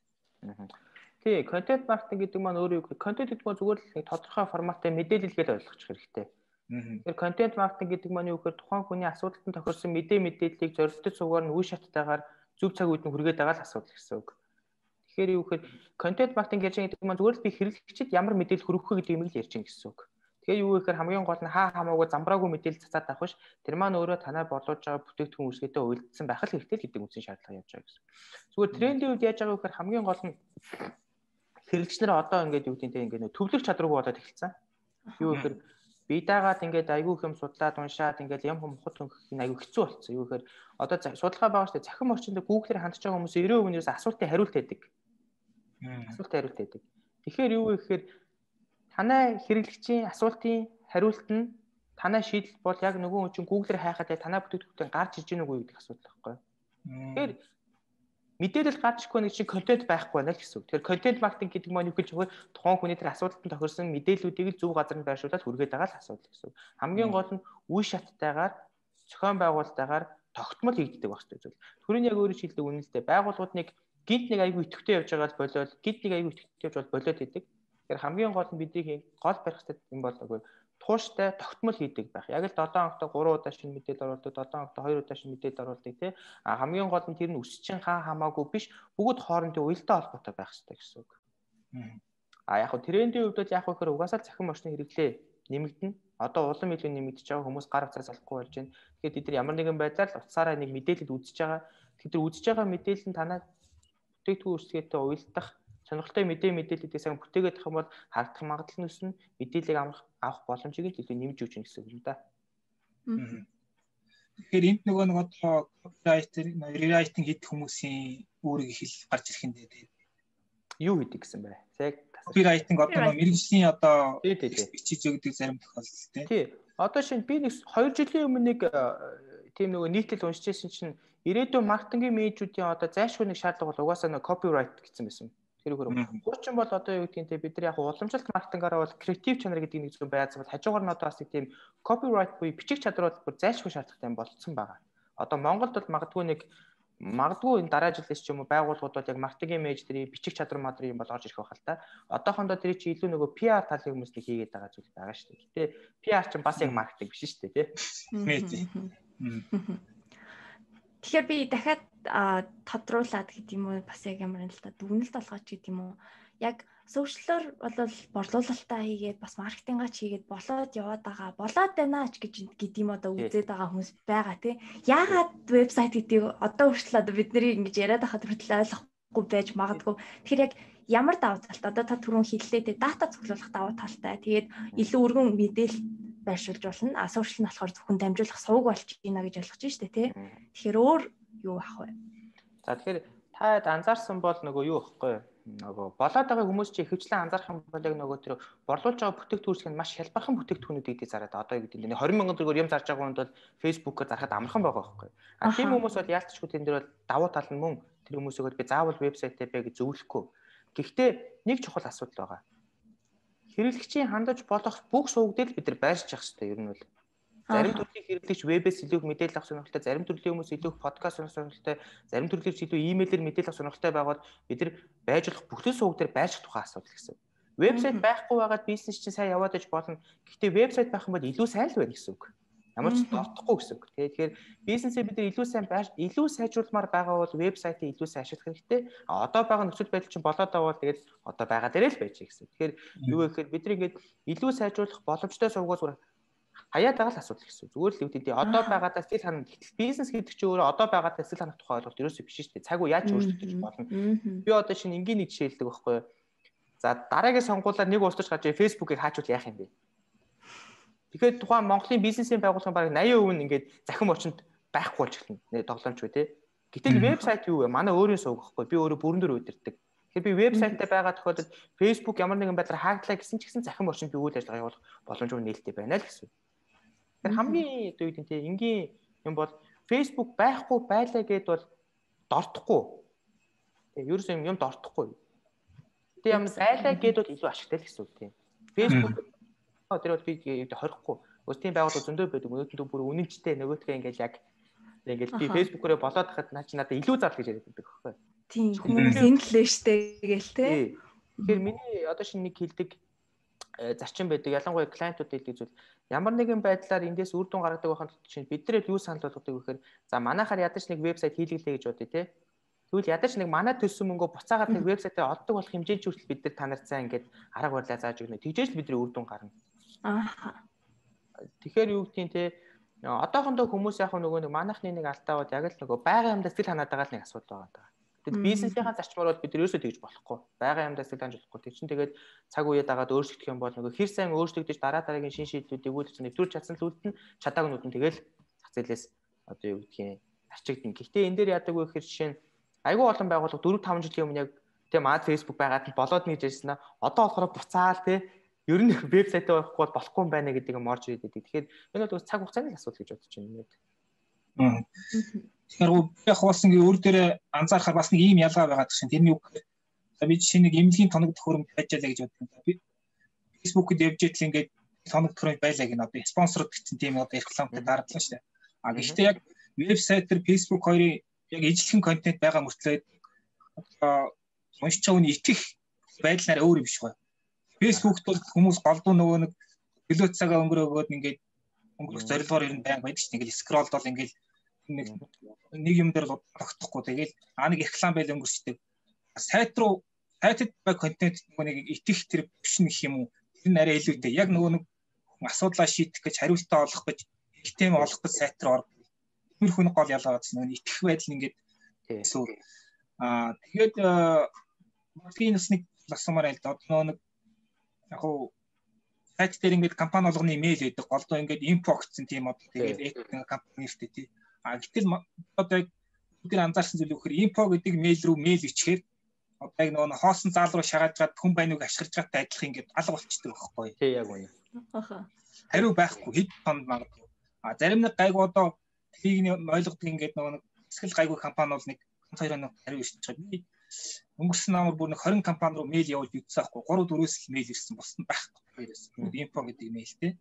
C: Тий, контент маркетинг гэдэг маань өөрөө юу гэхээр контент гэдэг нь зүгээр л тодорхой форматтай мэдээлэл гэж ойлгочих хэрэгтэй. Тэгэхээр контент маркетинг гэдэг маань юу гэхээр тухайн хүний асуудалтанд тохирсон мэдээллийг зорилттой цугаар нь үе шаттайгаар зөв цаг үед нь хүргээд байгаа л асуудал гэсэн үг. Тэгэхээр юу гэхээр контент маркетинг ярьж байгаа гэдэг маань зүгээр л би хэрэглэгчид ямар мэдээлэл хүргэх вэ гэдэг юм л ярьж байгаа гэсэн үг. Тэгэхээр юу гэхээр хамгийн гол нь хаа хамаагүй замбраагүй мэдээлэл цацаад авах биш. Тэр маань өөрөө танай бодлож байгаа бүтээгдэхүүн үүсгэтэй уялдсан байх л хэрэгтэй гэдэг үндсэн шаардлага явж байгаа гэсэн. Зүгээр трендийн үед яаж байгаа вэ гэхээр хамгийн гол нь хэрэглэгч нар одоо ингээд юу гэдэг ингээд нөө төвлөрөх чадваргүй болоод эхэлсэн. Юу гэхээр би дагаад ингээд айгүй хэм судлаад уншаад ингээд ям хумхад хөнгөх нь айгүй хэцүү болцсон. Юу гэхээр одоо судалгаа байгаа шүү дээ. Захин орчинд Google-ээр хандж байгаа хүмүүс 90% нь асуултыг хариулт байдаг. Асуулт хариулт байдаг. Тэгэхээр юу вэ гэхээр танай хэрэглэгчийн асуултын хариулт нь танай шийдэл бол яг нөгөө хүн чинь Google-ээр хайхад танай бүтээгдэхүүнтэй гарч иж гэнэ үгүй гэдэг асуудал байхгүй. Тэгэхээр мэдээлэл гарч ирэхгүй нэг чинь контент байхгүй байна л гэсэн үг. Тэгэхээр контент маркетинг гэдэг маань юу гэж вэ? Тухайн хүний тэр асуудалтанд тохирсон мэдээллүүдийг зөв газарт байршуулаад хүргээд байгаа л асуудал гэсэн үг. Хамгийн гол нь үе шаттайгаар зохион байгуулалтайгаар тогтмол хийгддэг байх хэрэгтэй зүйл. Түрүүний яг өөрөө шилдэг үнэн л дээ. Байгууллагууд нэг гинт нэг айгүй идэвхтэй явж байгаа болоод гинт нэг айгүй идэвхтэй явж болоод идэг. Тэгэхээр хамгийн гол нь бидний гол барих хэрэгтэй юм бол нөгөө тууштай тогтмол хийдэг байх. Яг л 7 хоногт 3 удаа шинэ мэдээлэл оруулдаг, 7 хоногт 2 удаа шинэ мэдээлэл оруулдаг тий. Хамгийн гол нь тэр нь өсчин хамаагүй биш, бүгд хоорондын уялдаа холбоотой байх хэрэгтэй гэсэн үг. Яг хөө трендийн хувьд бол яг хөөр угаасаа захин орчны хэрэглээ нэмэгдэнэ. Одоо улам илүү нэмэгдэж байгаа, хүмүүс гар утсаас салахгүй болж байна. Тэгэхээр бид нар ямар нэгэн байдлаар утсаараа нэг мэдээлэл үзэж байгаа. Тэгэхээр үзэж байгаа мэдээлэл нь танаа бүтээгдэхүүн үүсгэтэй уялдах сонирхолтой мэдээллүүдээс сан бүтээгээд авах юм бол харагдах магадлал нь өснө, мэдээллийг авах боломжийг л илүү нэмж өгч гэнэ гэсэн үг юм да.
D: Тэгэхээр энд нөгөө нэг одоо рерайтинг хийх хүмүүсийн үүрэг их л гарч ирэх юм дээ.
C: Юу хийдэг гэсэн бэ? Яг
D: копирайтинг одоо мэргэжлийн одоо бичиж өгдөг зарим тохиолдол
C: тий. Одоо шинэ би нэг 2 жилийн өмнө нэг тийм нөгөө нийтлэл уншиж байсан чинь ирээдүйн маркетингийн менежүүдийн одоо зайлшгүй нэг шаардлага бол угаасаа нэг копирайт гэсэн байсан. Тэр хөрөг. Хуучин бол одоо юу гэдгийг те бид нар яг уламжлалт маркетингаараа бол креатив чанар гэдэг нэг зүйл байцсан бол хажуугаар нь одоо бас тийм копирайт буюу бичих чадвар бол зайлшгүй шаардлагатай болцсон байгаа. Одоо Монголд бол магадгүй энэ дараа жилээс ч юм уу байгууллагууд бол яг маркетингийн менежерийн бичих чадвар мадрын юм бол орж ирэх байх л та. Одоохондоо тэр чинь илүү нөгөө PR талын хүмүүстэй хийгээд байгаа зүйл байгаа шүү дээ. Гэтэ PR чинь бас яг маркетинг биш шүү дээ тий.
B: Тэгэхээр би дахиад тодруулаад гэдэг юм уу бас яг ямар юм л та дүгнэлт олгооч гэдэг юм уу яг сошиалор бол борлуулалтаа хийгээд бас маркетингаач хийгээд болоод яваад байгаа болоод байна ч гэдэг юм одоо үзээд байгаа хүмүүс байгаа тий яагаад вебсайт гэдгийг одоо хүртэл одоо бид нарыг ингэж яриад байхад хүртэл ойлгохгүй байж магадгүй тэгэхээр яг ямар давуу талтай одоо та түрүүн хэллээ тий дата цуглуулах давуу талтай тэгээд илүү өргөн мэдээлэл байршуулж болно сошиал нь болохоор зөвхөн дамжуулах сувг болж байна гэж ойлгож байна шүү дээ тий тэгэхээр өөр юу ах вэ
C: за тэгэхээр та анзаарсан бол нөгөө юу ихгүй нөгөө болоод байгаа хүмүүс чинь ихэвчлэн анзаарах юм бол яг нөгөө тэр борлуулж байгаа бүтээгдэхүүн маш хялбархан бүтээгдэхүүнүүдийг зараад одоо юу гэдэг нь 20 сая төгрөгөөр юм зарж байгаа хүнд бол Facebook-оор зарахад амархан байгаа байхгүй. Тийм хүмүүс бол яалтчгүй тэн дээр бол давуу тал нь мөн тэр хүмүүсийг би заавал вебсайтаа бэ гэж зөвлөхгүй. Гэхдээ нэг чухал асуудал байгаа. Хэрэглэгчийн хандаж болох бүх сувгдэл бид нар байршиж явах хэрэгтэй ер нь бол. Зарим төрлийн хэрэглэгч вебээс илүү мэдээлэл авах сонирхолтой, зарим төрлийн хүмүүс илүү подкаст сонирхолтой, зарим төрлийн илүү имэйлээр мэдээлэл авах сонирхолтой байгаад бид нар байж болох бүхэл сувг дээр байрших тухай асуудал гэсэн. Вебсайт байхгүй байгаад бизнес чинь сайн яваад иж болно. Гэхдээ вебсайт байх юм бол илүү сайн л байна гэсэн үг. Ямар ч товтохгүй гэсэн үг. Тэгэхээр бизнесээ бид нар илүү сайжруулмаар байгаа бол вебсайтыг илүү сайн ашиглах хэрэгтэй. Одоо байгаа нөхцөл байдал чинь болоод байгаа бол тэгээд одоо байгаа дээрээ л байж гэсэн. Тэгэхээр юу гэхээр бид нар ингээд илүү сайжруулах боломжтой сувгууд хаяад байгаа л асуудал гэсэн. Зүгээр л үүдээ одоо байгаадаа сэтгэл ханах бизнес гэдэг чинь өөрөө одоо байгаадаа сэтгэл ханах тухай ойлголт ерөөсөө биш шүү дээ. Цаг уу яаж өөрчлөгдөж болно. Би одоо шинэ энгийн нэг жишээ хэлдэг байхгүй юу. За дараагийн сонгуулиар нэг устж гарч Facebook-ыг хаачвал яах юм бэ? Тэгэхээр тухайн Монголын бизнесийн байгууллагын бараг 80% нь ингээд захин орчинд байхгүй болж эхэлнэ. Тоглоомч үү те. Гэтэл вебсайт юу вэ? Манай өөрийн сувг гэхгүй. Би өөрөө бүрэн дээр удирддаг. Тэгэхээр би вебсайтаа байгаа тохиолдолд Facebook ямар нэгэн байдлаар хааглаа гэсэн ч гэсэн захин орчинд би үйл ажиллагаа явуулах боломжгүй нээлттэй байна л гэсэн. Тэгэхээр хамгийн одоо юу гэдэг нь энгийн юм бол Facebook байхгүй байлаа гэд бол дортохгүй. Тэгээ ерөөсөө юм дортохгүй. Тэгээ юм байлаа гэд бол илүү ашигтай л гэсэн үг тийм. Facebook тэр бол би хорихгүй. Ус тийм байгууллага зөндөө байдаг. Өнөөдөр бүр үнэнчтэй нөгөөтгөө ингээл би Facebook-оор болоод хахад надад илүү зарлах гэж яриад байдаг байхгүй.
B: Тийм хүмүүс энэ л штэ гээл те.
C: Тэгэхээр миний одоо шинэ нэг хэлдэг зарчим байдаг. Ялангуяа клиентууд хэлдэг зүйл ямар нэгэн байдлаар эндээс үр дүн гаргадаг байхад чинь бид нарыг юу санал болгодог вэ гэхээр за манайхаар ядаж нэг вебсайт хийлгэлээ гэж бодъё те. Тэгвэл ядаж нэг манай төлсөн мөнгөө буцаагаад нэг вебсайтаа олдог болох хэмжээнд хүртэл бид нар та нарт сайн ингээд арга барилаа зааж өгнө. Тэгжээж л бидний үр дүн гарна. Тэгэхээр юу гэдгийг те одоохондоо хүмүүс яг нөгөө нэг манайхны нэг алдаа бод яг л нөгөө байгаль амьдаа сэтгэл ханаад байгаа л нэг асуудал байгаа даа. Тэгэд бизнесийнхаа зарчмаар бол бид ерөөсөө тэгж болохгүй. Байгаль амьдаа сэтгэл ханаж болохгүй. Тэг чин тэгээд цаг үеэ дагаад өөрчлөгдөх юм бол нөгөө хэр сайн өөрчлөгдөж дараагийн шин шийдлүүдийг өгүүлж нэвтрүүлж чадсан л үлдэн чадаагүй нүдэн тэгэл зах зээлээс одоо юу гэдгийг арчигдана. Гэхдээ энэ дээр яадаг вэ гэхээр жишээ нь айгүй олон байгууллага 4-5 жилийн өмнө яг тийм мад Facebook байгаад нь болоод нэгж ярьсан аа. Одоо болохоор буцаал те ер нь вебсайтаа байхгүй болохгүй юм байна гэдэг юм орж ирээд байдаг. Тэгэхээр энэ бол цаг хугацааны асуудал гэж бодож байна. Тэгэхээр яг хооснгийн өөр дээрээ анзаархаар бас нэг ийм ялгаа байгаа гэх шин. Тэрний үг би жишээ нэг эмнэлгийн тоног төхөөрөмж хайжаалаа гэж боддог. Би Facebook-д явж итэл ингээд тоног төхөөрөмж байлаа гэнэ. Одоо спонсорд гэсэн тийм одоо рекламтай дараалсан шүү дээ. А гэхдээ яг вебсайт дээр Facebook хоёрын яг ижлэхэн контент байгаа мөртлөө одоо уншиж байгаа үний итгэх байдлаараа өөр юм биш гоё. Facebook-т бол хүмүүс голдуу нөгөө нэг төлөө цагаа өнгөрөөгөөд ингээд өнгөрөх зорилгоор ирэн байнг байдаг шүү дээ. Ингээд скролд бол ингээд нэг юм дээр л тогтохгүй. Тэгэл нэг реклам байл өнгөрчдөг. Сайт руу сайтад байгаа контент нөгөө нэг итгэх тэр биш нэг юм уу? Тэр нь арай илүүтэй. Яг нөгөө нэг асуудлаа шийдэх гэж хариултаа олох гэж систем олох гэж сайт руу ордог. Тиймэрхүү нэг гол ялгаа байна. Нөгөө итгэх байдал ингээд эсвэл тэгээд маркетинг бас нэг асуумаар л да. Одоо нэг яг уу сайт дээр ингээд компани болгоны имэйл байдаг. Голдоо ингээд инфо гэсэн тийм одоо тэгээд компани нэртэй тий. Гэтэл одоо бид анзаарсан зүйл үхээр инфо гэдэг мэйл рүү мэйл ичгээр одоо яг нөгөө хоосон заал руу шагааж гад хүн байныг ашиглаж байгаатай адилхан ингээд алга болчихдог байхгүй. Тий яг үнэ.
D: Хариу байхгүй хэд тонд магадгүй. Зарим нэг гайгүй одоо тийг ойлгодог ингээд нөгөө нэг хэсгэл гайгүй компани бол нэг 2 хоног хариу ирсэн чинь би өнгөрсөн намар бүр нэг 20 компани руу мэйл явуулж үзсэн байхгүй. 3-4-өөс л мэйл ирсэн. Бус нь байхгүй. Инфо гэдэг мэйлтэй.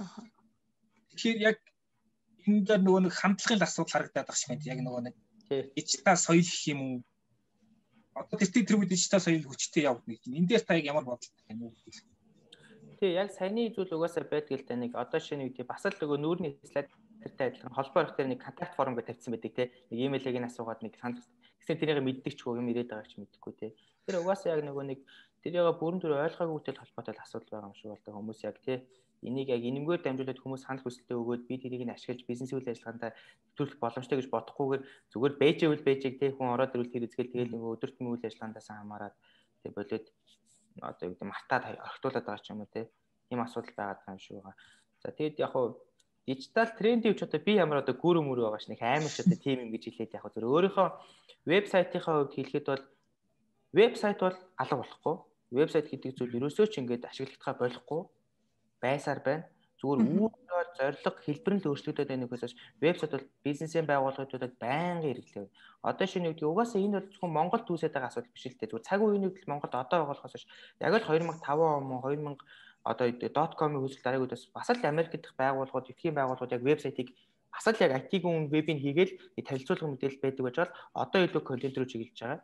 D: Тэгэхээр яг энэ дээр нөгөө нэг хандлагын асуудал харагдаад байгаа шиг байна. Яг нөгөө нэг дижитал соёл гэх юм уу? Одоо тэр үед дижитал соёл хүчтэй явна гэж. Энэ дээр та яг ямар бодолтой байна уу?
C: Тий, яг саяны зүйл угаасаа байдаг л да нэг одоо шинэ үед бас л нөгөө нүүрний слайд тэртэй адилхан холбоо орох дээр нэг контакт форм гэж тавьсан байдаг те. Нэг имэйлийг нь асуугаад нэг санал гэсэн тэрийг мэддэг ч юм ирээд байгаа ч мэдхгүй те. Тэр угаасаа яг нөгөө нэг тэрийг бүрэн дүр ойлгоогүйтэй холбоотой асуудал байгаа юм шиг болтой хүмүүс яг те. Энийг яг энэмгээр дамжуулаад хүмүүс санал хүсэлтээ өгөөд би тэрийг нь ашиглаж бизнес үйл ажиллагаанд төлөх боломжтой гэж бодохгүйгээр зүгээр бэжэвэл бэжийг те хүн ороод ирвэл тэр үзгээл тэгэл нөгөө өдөр тутмын үйл ажиллагаандаас хамаарат те болоод одоо юу гэдэг мартаад орхитуулаад байгаа ч юм уу те. Ийм асуудал байгаад байгаа юм шиг байгаа. За тэгэд яг хуу дижитал трендийн ч одоо би ямар одоо гүрэн мөр байгаа ш нэг амар ч одоо тим юм гэж хэлээд яг зөв өөрийнхөө вебсайтынхаа хувьд хэлэхэд бол вебсайт бол алга болохгүй. Вебсайт гэдэг зүйл ерөөсөө ч ингээд ашиглагдахаа болохгүй байсаар байна. Зүгээр үүргээр зорилго хэлбэр нь л өөрчлөгдөд байна гэхээс вебсайт бол бизнесийн байгууллагуудад байнгын хэрэглэв. Одоо шинэ үеийн угаасаа энэ бол зөвхөн Монгол түүсээд байгаа асуудал биш л дээ. Зүгээр цаг үеийн үед Монголд одоо байгаа болохоос яг л 2005 он 2000 одоо .com-ийн хөлсөл дараагуудаас бас л Америкт дэх байгууллагууд, эдхийн байгууллагууд яг вебсайтыг бас л яг IT-ийн вебийг хийгээл танилцуулга мэдээлэл байдаг гэж бол одоо илүү контент руу чиглэж байгаа.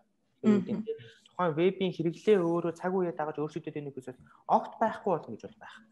C: Тухайн вебийн хэрэглээ өөрөө цаг үеэ дагаж өөрчлөгдөд байна гэхээс огт байхгүй болно гэж бол байх.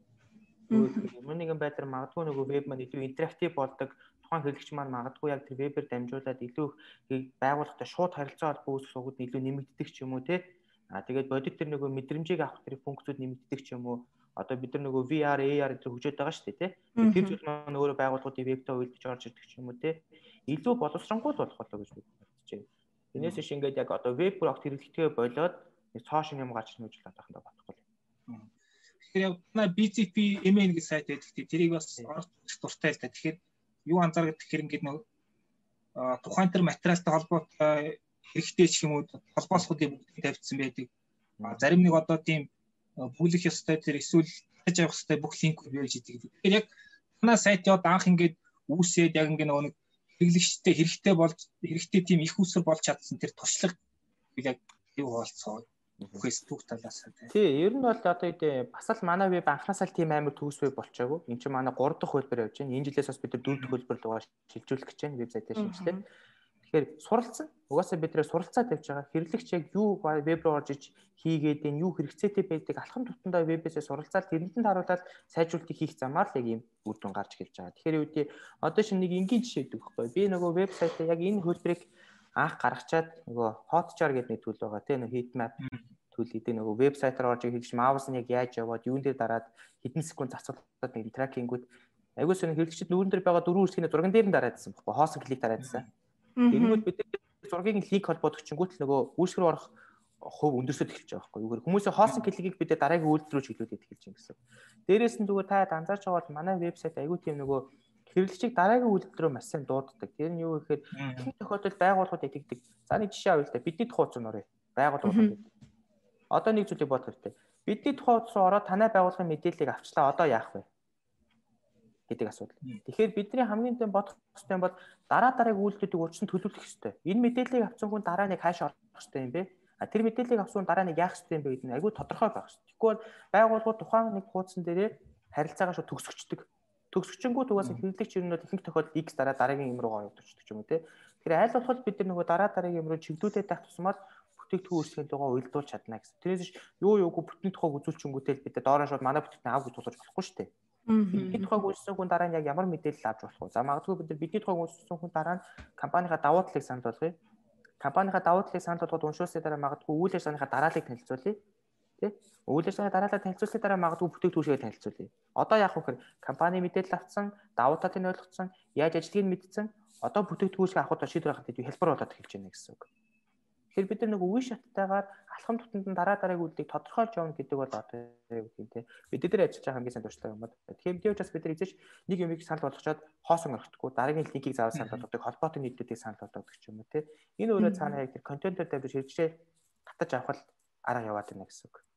C: Ямар нэгэн байдлаар магадгүй нөгөө веб маань илүү интерактив болдог. Тухайн хэрэглэгч маань магадгүй яг тэр вебээр дамжуулаад илүү байгууллагатай шууд харилцаа холбоо үүсгэх сувгууд илүү нэмэгддэг ч юм уу те. Тэгээд бодит тэр нөгөө мэдрэмжийг авах тэр функцүүд нэмэгддэг ч юм уу. Одоо бид нар нөгөө VR, AR гэдэг хөгжөөд байгаа шүү дээ те. Тэр зүйл маань өөрөө байгууллагуудын вебтэй уйлдэж орж ирдэг ч юм уу те. Илүү боловсронгуй болох болоо гэж бодож байна. Энээс иш ингээд яг одоо веб бүр огт хэрэглэхтэй болоод цоошин юм гарч нүүж л одоохондоо бодохгүй.
D: Тэгэхээр яг BCP MN гэж сайт байдаг. Тэрийг бас орох дуртай л та. Тэгэхээр юу анзаардаг гэхээр ингээд нөгөө тухайн төр материалтай холбоотой хэрэгтэй ч юм уу холбоосуудыг бүгд тавьчихсан байдаг. Зарим нэг одоо тийм бүлэх ёстой тэр эсвэл хаж явах ёстой бүх линкүүд байж идэг. Тэгэхээр яг манай сайт яваад анх ингээд үүсээд яг ингээд нөгөө нэг хэрэглэгчтэй хэрэгтэй тийм их усэр болж чадсан тэр туршлага яг юу болцоо Facebook талаас нь.
C: Тий, ер нь бол одоо бас л манай веб анхнаасаа л тийм амар төгсвэй болчоогүй. Энд чинь манай 3 дахь хөлбөр явж байна. Энэ жилээс бас бид 4 дахь хөлбөр рүү шилжүүлэх гэж байна вебсайтаа шинжилээд. Тэгэхээр суралцсан. Угаасаа бид нэр суралцаа тавьж байгаа. Хэрэглэгч яг юу веб руу орж иж хийгээд энэ юу хэрэгцээтэй байдаг алхам тутамдаа вебээсээ суралцаад тэрэнд нь харуулаад сайжруулалтыг хийх замаар л яг ийм үр дүн гарч эхэлж байгаа. Тэгэхээр үүдээ одоо шинэ нэг энгийн жишээ өгөх байхгүй. Би нөгөө вебсайтаа яг энэ хөлбөрийг анх гаргачаад нөгөө Hotjar гэдэг нэг төлөв байгаа тийм нэг heatmap төлөв гэдэг нөгөө вебсайт руу орж ирж маус нь яг яаж яваад юун дээр дараад хэдэн секунд цацуулаад нэг тракингүүд айгуус нэг хэрэглэгчид нүүрэн дээр байгаа 4 үсгийн зурган дээр нь дараадсан байхгүй хоосон клик дараадсан. Тэгэнгүүт бид зургийг линк холбоод өчнгүүт л нөгөө үйлчлэг рүү орох хувь өндөрсөд эхэлж байгаа байхгүй юу. Хүмүүсийн хоосон кликийг бид дараагийн үйлдэл рүү чиглүүлээд эхэлж байгаа гэсэн. Дээрээс нь зүгээр та анзаарч байгаа бол манай вебсайт айгүй тийм нөгөө хэрэглэгчийг дараагийн үйлдэл рүү маш сайн дууддаг. Тэр нь юу гэхээр ихэнх тохиолдолд байгууллагууд яддаг. За нэг жишээ авъя л да. Бидний тухай утас нөрөө. Байгууллагууд. Одоо нэг зүйлийг бодох хэрэгтэй. Бидний тухай утас руу ороод танай байгууллагын мэдээллийг авчлаа. Одоо яах вэ? Гэдэг асуудал. Тэгэхээр бидний хамгийн дэм бодох хэрэгтэй бол дараагийн үйлдэлүүдийг урьдчилан төлөвлөх хэрэгтэй. Энэ мэдээллийг авсан хүн дараа нэг хаашаа орох хэрэгтэй юм бэ? Тэр мэдээллийг авсан хүн дараа нэг яах хэрэгтэй юм бэ гэдэг нь айгүй тодорхой байх хэрэгтэй. Тэгэхгүй бол байгууллагууд тухайн нэг хуудсан дээрээ харилцаагаа шууд төгсгчдөг. Төгсгчөнгүүд угаасаа хэрэглэгч юм бол ихэнх тохиолдолд X дараагийн юм руугаа явуулдаг юм уу те. Тэгэхээр аль болох бид нар нөгөө дараагийн юм руу чиглүүлээд байх тусмал бүтээгдэхүүн үйлчлэгийн тугаа уялдуулж чадна гэсэн. Тэрээс юу юугүй бүтэн тухайг үзүүлчингүүтэл бид доороо шууд манай бүтээгдэхүүн авах гэж тулгаж болохгүй шүү дээ. Бидний тухайг үзсэн хүн дараа нь яг ямар мэдээлэл авч болох вэ? За магадгүй бид нар бидний тухайг үзсэн хүн дараа нь компанийнхаа давуу талыг санал болгоё. Компанийнхаа давуу талыг санал болгоод уншуулсны дараа магадгүй үйл ажиллагааныхаа дарааллыг танилцуулъя. Тэ? Үйл ажиллагааны дараалал танилцуулсны дараа магадгүй бүтээгдэхүүнээ танилцуулъя. Одоо яах вэ гэхээр компани мэдээлэл авсан, давуу талыг ойлгоцсон, яаж ажиллагийг мэдсэн, одоо бүтээгдэхүүнээ авахд шийдвэр гаргахад хэлбэр болоод эхэлж байна гэсэн үг. Тэгэхээр бид нар нэг үе шаттайгаар алхам тутамд нь дараагийн үйлдэлийг тодорхойлж явна гэдэг бол одоо юу гэх юм те. Бид дээр ажиллаж байгаа хамгийн сайн туршлага юм байна. Тэгэхээр бид учраас бид нар эзэж нэг юмыг санал болгочоод хоосон орохтгүй дараагийн линкийг заавал санал болгодог, холбоотой нийтлүүдийг санал болгодог ч юм уу те. Энэ өөрөө цаана яг тэр контентоор тавьж хэрэгжээ татаж авах арга яваад байна гэсэн үг.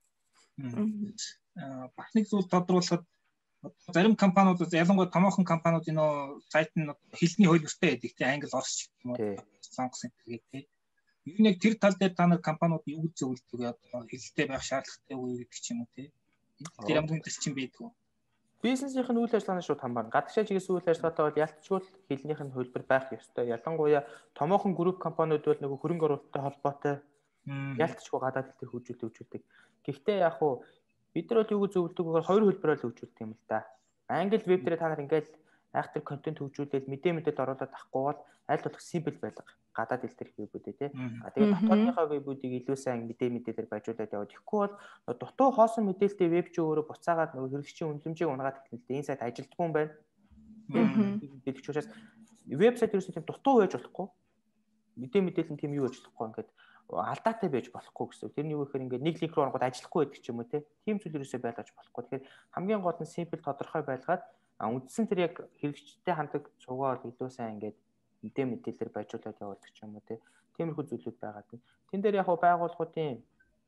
D: Бас нэг зүйл тодруулахад зарим компаниуд ялангуяа томоохон компаниуд энэ сайт нь хэлний хөлбөртэй байдаг тийм англи орс юм уу сонгосон гэдэг тийм. Юу нэг тэр тал дээр та нар компаниуд юу зөвлөдөг одоо хэлэлтэй байх шаардлагатай үе гэдэг ч юм уу тийм. Тэр ямар нэг чинь байдгүй.
C: Бизнесийн үйл ажиллагааны шууд хамбарна. Гадагшаа чиглэсэн үйл ажиллагаатай бол ялцчгүй хэлнийх нь хөлбөр байх ёстой. Ялангуяа томоохон групп компаниуд бол нөгөө хөрөнгө оруулалттай холбоотой ялцчгүй гадаад хэл төр хөгжүүлдэг. Гэхдээ яг уу бид нар бол юу гэж зөвлөдөг вэ? Хоёр хөлбөрөөр л хөгжүүлдэг юм л да. Англи веб дээр та нар ингээд айхтар контент хөгжүүлээд мэдээлэл оруулаад авахгүй бол аль болох симпл байлга гадаад хэл төр вебүүдээ тий. Тэгээд дотоодынхаа вебүүдийг илүү сайн мэдээлэлээр байжуулаад яваад ихгүй бол дутуу хоосон мэдээлэлтэй веб чи өөрөө буцаагаад нөгөө хэрэглэгчийн үнэлэмжийг унгаад ихнэлтэй энэ сайт ажилтгүй юм байна. Мэдээлэгч учраас вебсайт ерөөсөө тийм дутуу байж болохгүй. Мэдээлэл нь тийм юу байж болохгүй ингээд алдаатай байж болохгүй гэсэн. Тэр нь юу гэхээр ингээд нэг линк руу ороход ажиллахгүй байдаг ч юм уу те. Тийм зүйл ерөөсөө байлгаж болохгүй. Тэгэхээр хамгийн гол нь симпл тодорхой байлгаад үндсэн тэр яг хэрэглэгчтэй хандаг цугаа илүү сайн ингээд мэдээлэлээр байжуулаад явуулдаг ч юм уу те. Тиймэрхүү зүйлүүд байгаа тийм. Тэн дээр яг байгууллагуудын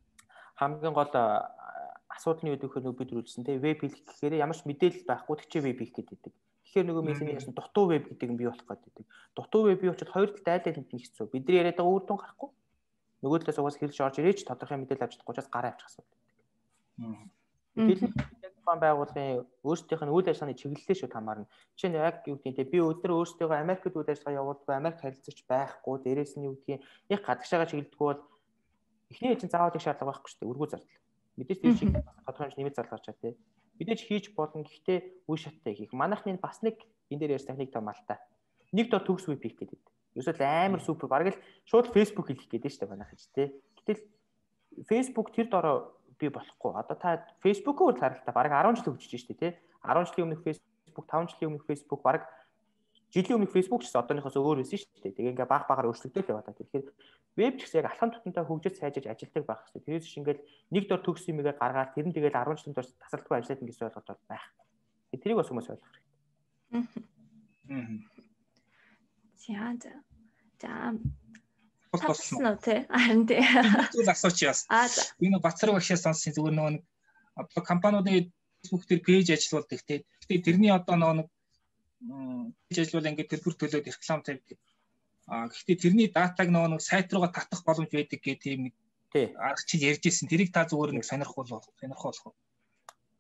C: хамгийн гол асуудал нь юу гэхээр нөгөө бид үргэлжсэн те. Веб хийх гэхээр ямар ч мэдээлэл байхгүй тэгчээ веб хийх гэдэг. Тэгэхээр нөгөө миний яасан дутуу веб гэдэг нь бий болох гэдэг. Дутуу веб бий учраас хоёр талд айл аль нэг хэцүү. Бидний яриад байгаа үр дүн гарахгүй. Нөгөө талаас угаас хэлж орж ирээч тодорхой мэдээлэл авч чадахгүй учраас гараа авчих асуудал байдаг. Мэдээлэл тухайн байгууллагын өөрсдийнх нь үйл ажиллагааны чиглэлээ шууд хамаарна. Жишээ нь яг юу гэдэг нь би өдөр өөрсдөө Америкт үйл ажиллагаа явуулдаг, Америк харилцагч байхгүй, дээрээс нь юу гэдгийг яг гадагшаага чиглэдэггүй бол эхний ээлжин заавал их шаардлага байхгүй шүү дээ. Өргөө зардал. Мэдээж тэр шиг тодорхой хэмжээ нэмэлт зардал гарч чад тий. Мэдээж хийж болно. Гэхдээ үе шаттай хийх. Манайхны бас нэг энэ дээр ярьсан техник том алтай. Нэг дор төгс веб хийх гэдэг. Ерөөсөө амар супер бараг л шууд Facebook хийх гэдэг шүү дээ манайх ч тий. Гэтэл Facebook тэр дороо би болохгүй. Одоо та Facebook-оор харалтаа бараг 10 жил хөгжиж штэ тий. 10 жилийн өмнөх Facebook, 5 жилийн өмнөх Facebook бараг жилийн өмнөх Facebook ч гэсэн одооноос өөр байсан штэ. Тэгээ ингээ баг багаар өөрчлөгдөж яваад та. Тэгэхээр веб ч гэсэн яг алхам тутамдаа хөгжиж сайжирч ажилтдаг байх хэрэгтэй. Тэрээс чинь ингээл нэг дор төгс юмгээ гаргаад тэр нь тэгэл 10 жилийн турш тасралтгүй ажиллаад гэсэн ойлголт бол байх. Тэрийг бас хүмүүс ойлгох
B: хэрэгтэй. За
D: Тослоо
B: тий. Харин тий.
D: Зүйл асууч яас. Энэ Бацраг багшаас сонссон зүгээр нөгөө одоо компаниудын Facebook дээр пэйж ажиллуулдаг тий. Гэтэ тэрний одоо нөгөө пэйж ажиллуул ингээд төлбөр төлөөд реклам тавьдаг. Гэхдээ тэрний датаг нөгөө сайт руугаа татах боломж байдаг гэх тийм нэг арга чи ярьж ирсэн. Тэрийг та зүгээр нэг сонирхол.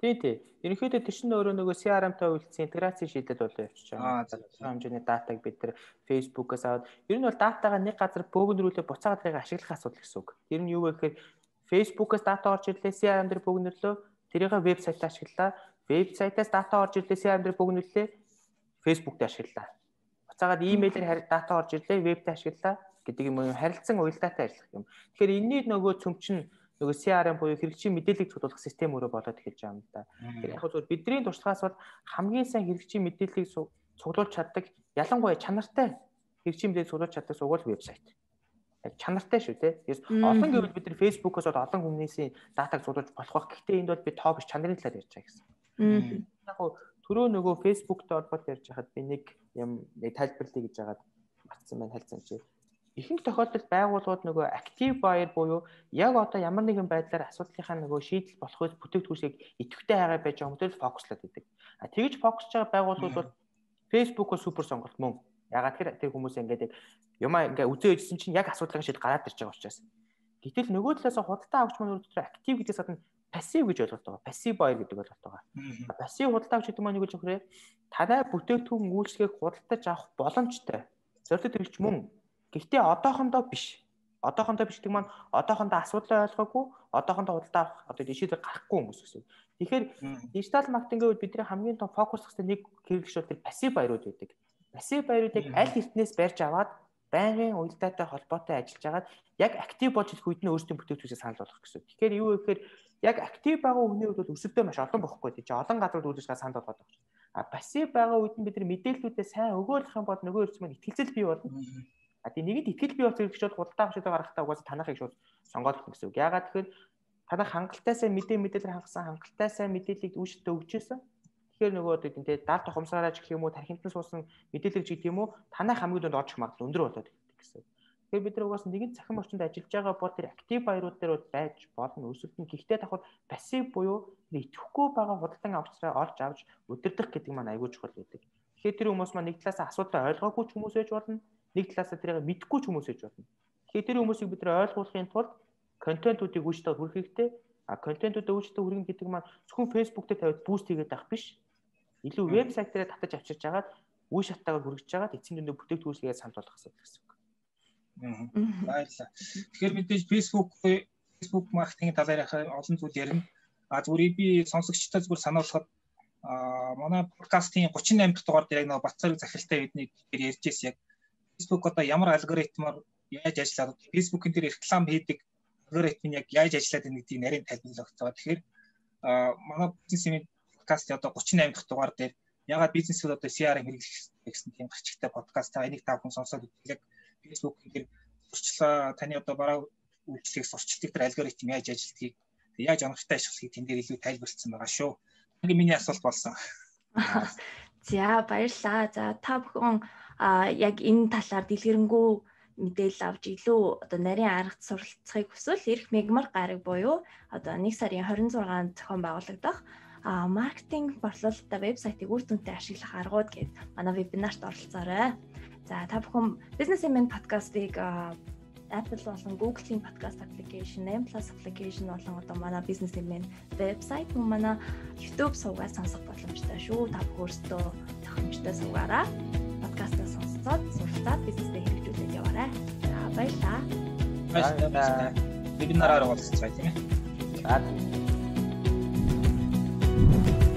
C: Тий. Ерөнхийдөө тэр чинь өөрөө нөгөө CRM-тай үйлдсэн интеграцийн шийдэл болоо явчих жаа. Хэмжээний датаг бид тэр Facebook-аас аваад ер нь бол датагаа нэг газар бөөгнөрүүлээ буцаагаад тэрийг ашиглах асуудал гэсэн үг. Тэр нь юу вэ гэхээр Facebook-аас дата орж ирлээ, CRM дээр бөөгнөрлөө, тэрийг вебсайтаа ашиглалаа. Вебсайтаас дата орж ирлээ, CRM дээр бөөгнөрлөө, Facebook дээр ашиглалаа. Буцаагаад имэйлээр дата орж ирлээ, вебтэй ашиглалаа гэдэг юм уу, харилцан уялдаатай ажиллах юм. Тэгэхээр энэний нөгөө цөмчин нөгөө CRM буюу хэрэгжийн мэдээллийг цуглуулах систем өөрөө болоод эхэлж байгаа юм да. Тэгэхээр яг зөв бидний туршлагаас бол хамгийн сайн хэрэгжийн мэдээллийг цуглуулж чаддаг, ялангуяа чанартай хэрэгжийн мэдээлэл цуглуулж чаддаг сугуул вебсайт. Яг чанартай шүү те. Тэгээс олон гэвэл бид нар Facebook-оос олон хүмүүсийн датаг цуглуулж болох байх. Гэхдээ энд бол би тоо биш чанарын талаар ярьж байгаа гэсэн. Яг түрүү нөгөө Facebook-тэй холбоотой ярьж байхад би нэг юм тайлбарлая гэж байгаад марцсан байна хальцсан чи. Ихэнх тохиолдолд байгууллагууд нөгөө active buyer буюу яг одоо ямар нэгэн байдлаар асуудлынхаа нөгөө шийдэл болохыг бүтээгдэхүүнсийг идэвхтэй хайгаа байж байгаа хүмүүст фокуслаад идэг. Тэгж фокусж байгаа байгууллагууд бол Facebook-оо супер сонголт мөн. Ягаад гэхээр тэр хүмүүс ингээд юмаа ингээ үзээ өгсөн чинь яг асуудлын шийдэл гараад ирж байгаа учраас. Гэтэл нөгөө талаас худалдаа авч маань өөрөөр active гэдгээс гадна passive гэж ойлголт байгаа. Passive buyer гэдэг ойлголт байгаа. Passive худалдаа авч гэдэг маань юу гэж өгөхрээ танай бүтээгдэхүүн үйлчлэгийг худалдаж авах боломжтой. Зорилт төрөлч мөн. Гэхдээ одоохондоо биш. Одоохондоо биш гэдэг маань одоохондоо асуудлаа ойлгоогүй, одоохондоо худалдаа авах одоо шийдэл гарахгүй хүмүүс гэсэн. Тэгэхээр дижитал маркетингийн үед бидний хамгийн том фокус хэвчээ нэг хэрэглэгч бол тэр пассив баярууд байдаг. Пассив баяруудыг аль хэвтнээс барьж аваад байнгын уялдаатай холбоотой ажиллаж агаад яг актив болж ирэх үед нь өөрсдийн бүтээгдэхүүнээ санал болгох гэсэн. Тэгэхээр юу вэ гэхээр яг актив байгаа хүний хувьд бол өсөлтөө маш олон бохгүй тийм олон газрууд үйлчлэгээ санал болгоод байгаа. Пассив байгаа үед нь бид нар мэдээллүүдээ сайн өгөөлөх юм бол нөгөө эрс маань итгэлцэл бий болно. Тийм нэгэд итгэл бий болох хэрэгч бол худалдаа авах шийдвэр гаргахтаа угаасаа танахыг шууд сонгоод өгөх гэсэн үг. Яагаад тэгэхээр танах хангалттай сайн мэдээлэл хангасан хангалттай сайн мэдээллийг үүштэй өгч байсан. Тэгэхээр нөгөө тийм те даал тухамсараач гэх юм уу тархинтан суусан мэдээлэл гэдэг юм уу танах хамгийн дунд орчих магадлал өндөр болоод ирдэг гэсэн. Тэгэхээр бид нар угаасаа нэгэн цахим орчинд ажиллаж байгаа бол тэр актив баярууд дээр байж болно өсөлтөн. Гэхдээ давхар пассив буюу итгэхгүй байгаа худалдан авчраа олж авч удирдах гэдэг маань аягүй чухал байдаг. Тэгэхээр тэр хүмүүс маань нэг талаас асуудлаа ойлгоогүй ч хүмүүс байж болно. Нэг талаас тэрийг мэдгүй ч хүмүүс байж болно. Тэгэхээр тэр хүмүүсийг бид нар ойлгуулахын тулд контентуудыг үүсдэж хүргэх хэрэгтэй. Контентуудыг үүсдэж хүргэх гэдэг маань зөвхөн Facebook дээр тавиад буст хийгээд авах биш. Илүү вебсайт дээр татаж авчирч агаад үе шаттайгаар хүргэж агаад эцсийн дүндээ бүтээгдэхүүнсгээ санал болгох асуудал гэсэн үг.
D: Баярлалаа. Тэгэхээр мэдээж Facebook маркетингийн талаар олон зүйл ярина. Зүгээр би сонсогчтой зүгээр сануулхад манай подкастын 38 дахь дугаар дээр яг нэг Батцарыг захиралтай биднийг ярьж ирсэн яг Facebook одоо ямар алгоритмаар яаж ажиллаад Facebook-ын дээр реклам хийдэг алгоритм яг яаж ажиллаад байгаа гэдгийг нарийн тайлбарлагдсан. Тэгэхээр манай бизнесмен подкаст одоо 38 дахь дугаар дээр ягаад бизнесүүд одоо CRM хэрэглэх гэсэн тийм гарчигтай подкаст энийг та бүхэн сонсоод яг Facebook-ын дээр сурчлаа таны одоо бараа үйлчлэгийг сурчлагдаг тэр алгоритм яаж ажилладгийг яаж оновчтой ашиглахыг тэн дээр илүү тайлбарлсан байгаа шүү. Ингээ миний асуулт болсон.
B: За баярлалаа. За та бүхэн яг энэ талаар дэлгэрэнгүй мэдээлэл авч илүү одоо нарийн аргад суралцахыг хүсвэл ирэх мегмар гараг буюу одоо 1 сарын 26-нд зохион байгуулагдах маркетинг борлуулалттай вебсайтыг үр дүнтэй ашиглах аргууд гэдэг манай вебинарт оролцоорой. За та бүхэн Businessman podcast-ыг Apple болон Google-ийн podcast application, M+ application болон одоо манай Businessman вебсайт мөн манай YouTube сувгаар сонсох боломжтой шүү. Та бүхэн өөрсдөө тохиомжтой сувгаараа подкастаа сонсцоод суралцаад бизнесээ хэрэгжүүлээд яваарай. За баярлалаа.
D: Баярлалаа. Вебинараар уулзцгаая тийм ээ.
C: За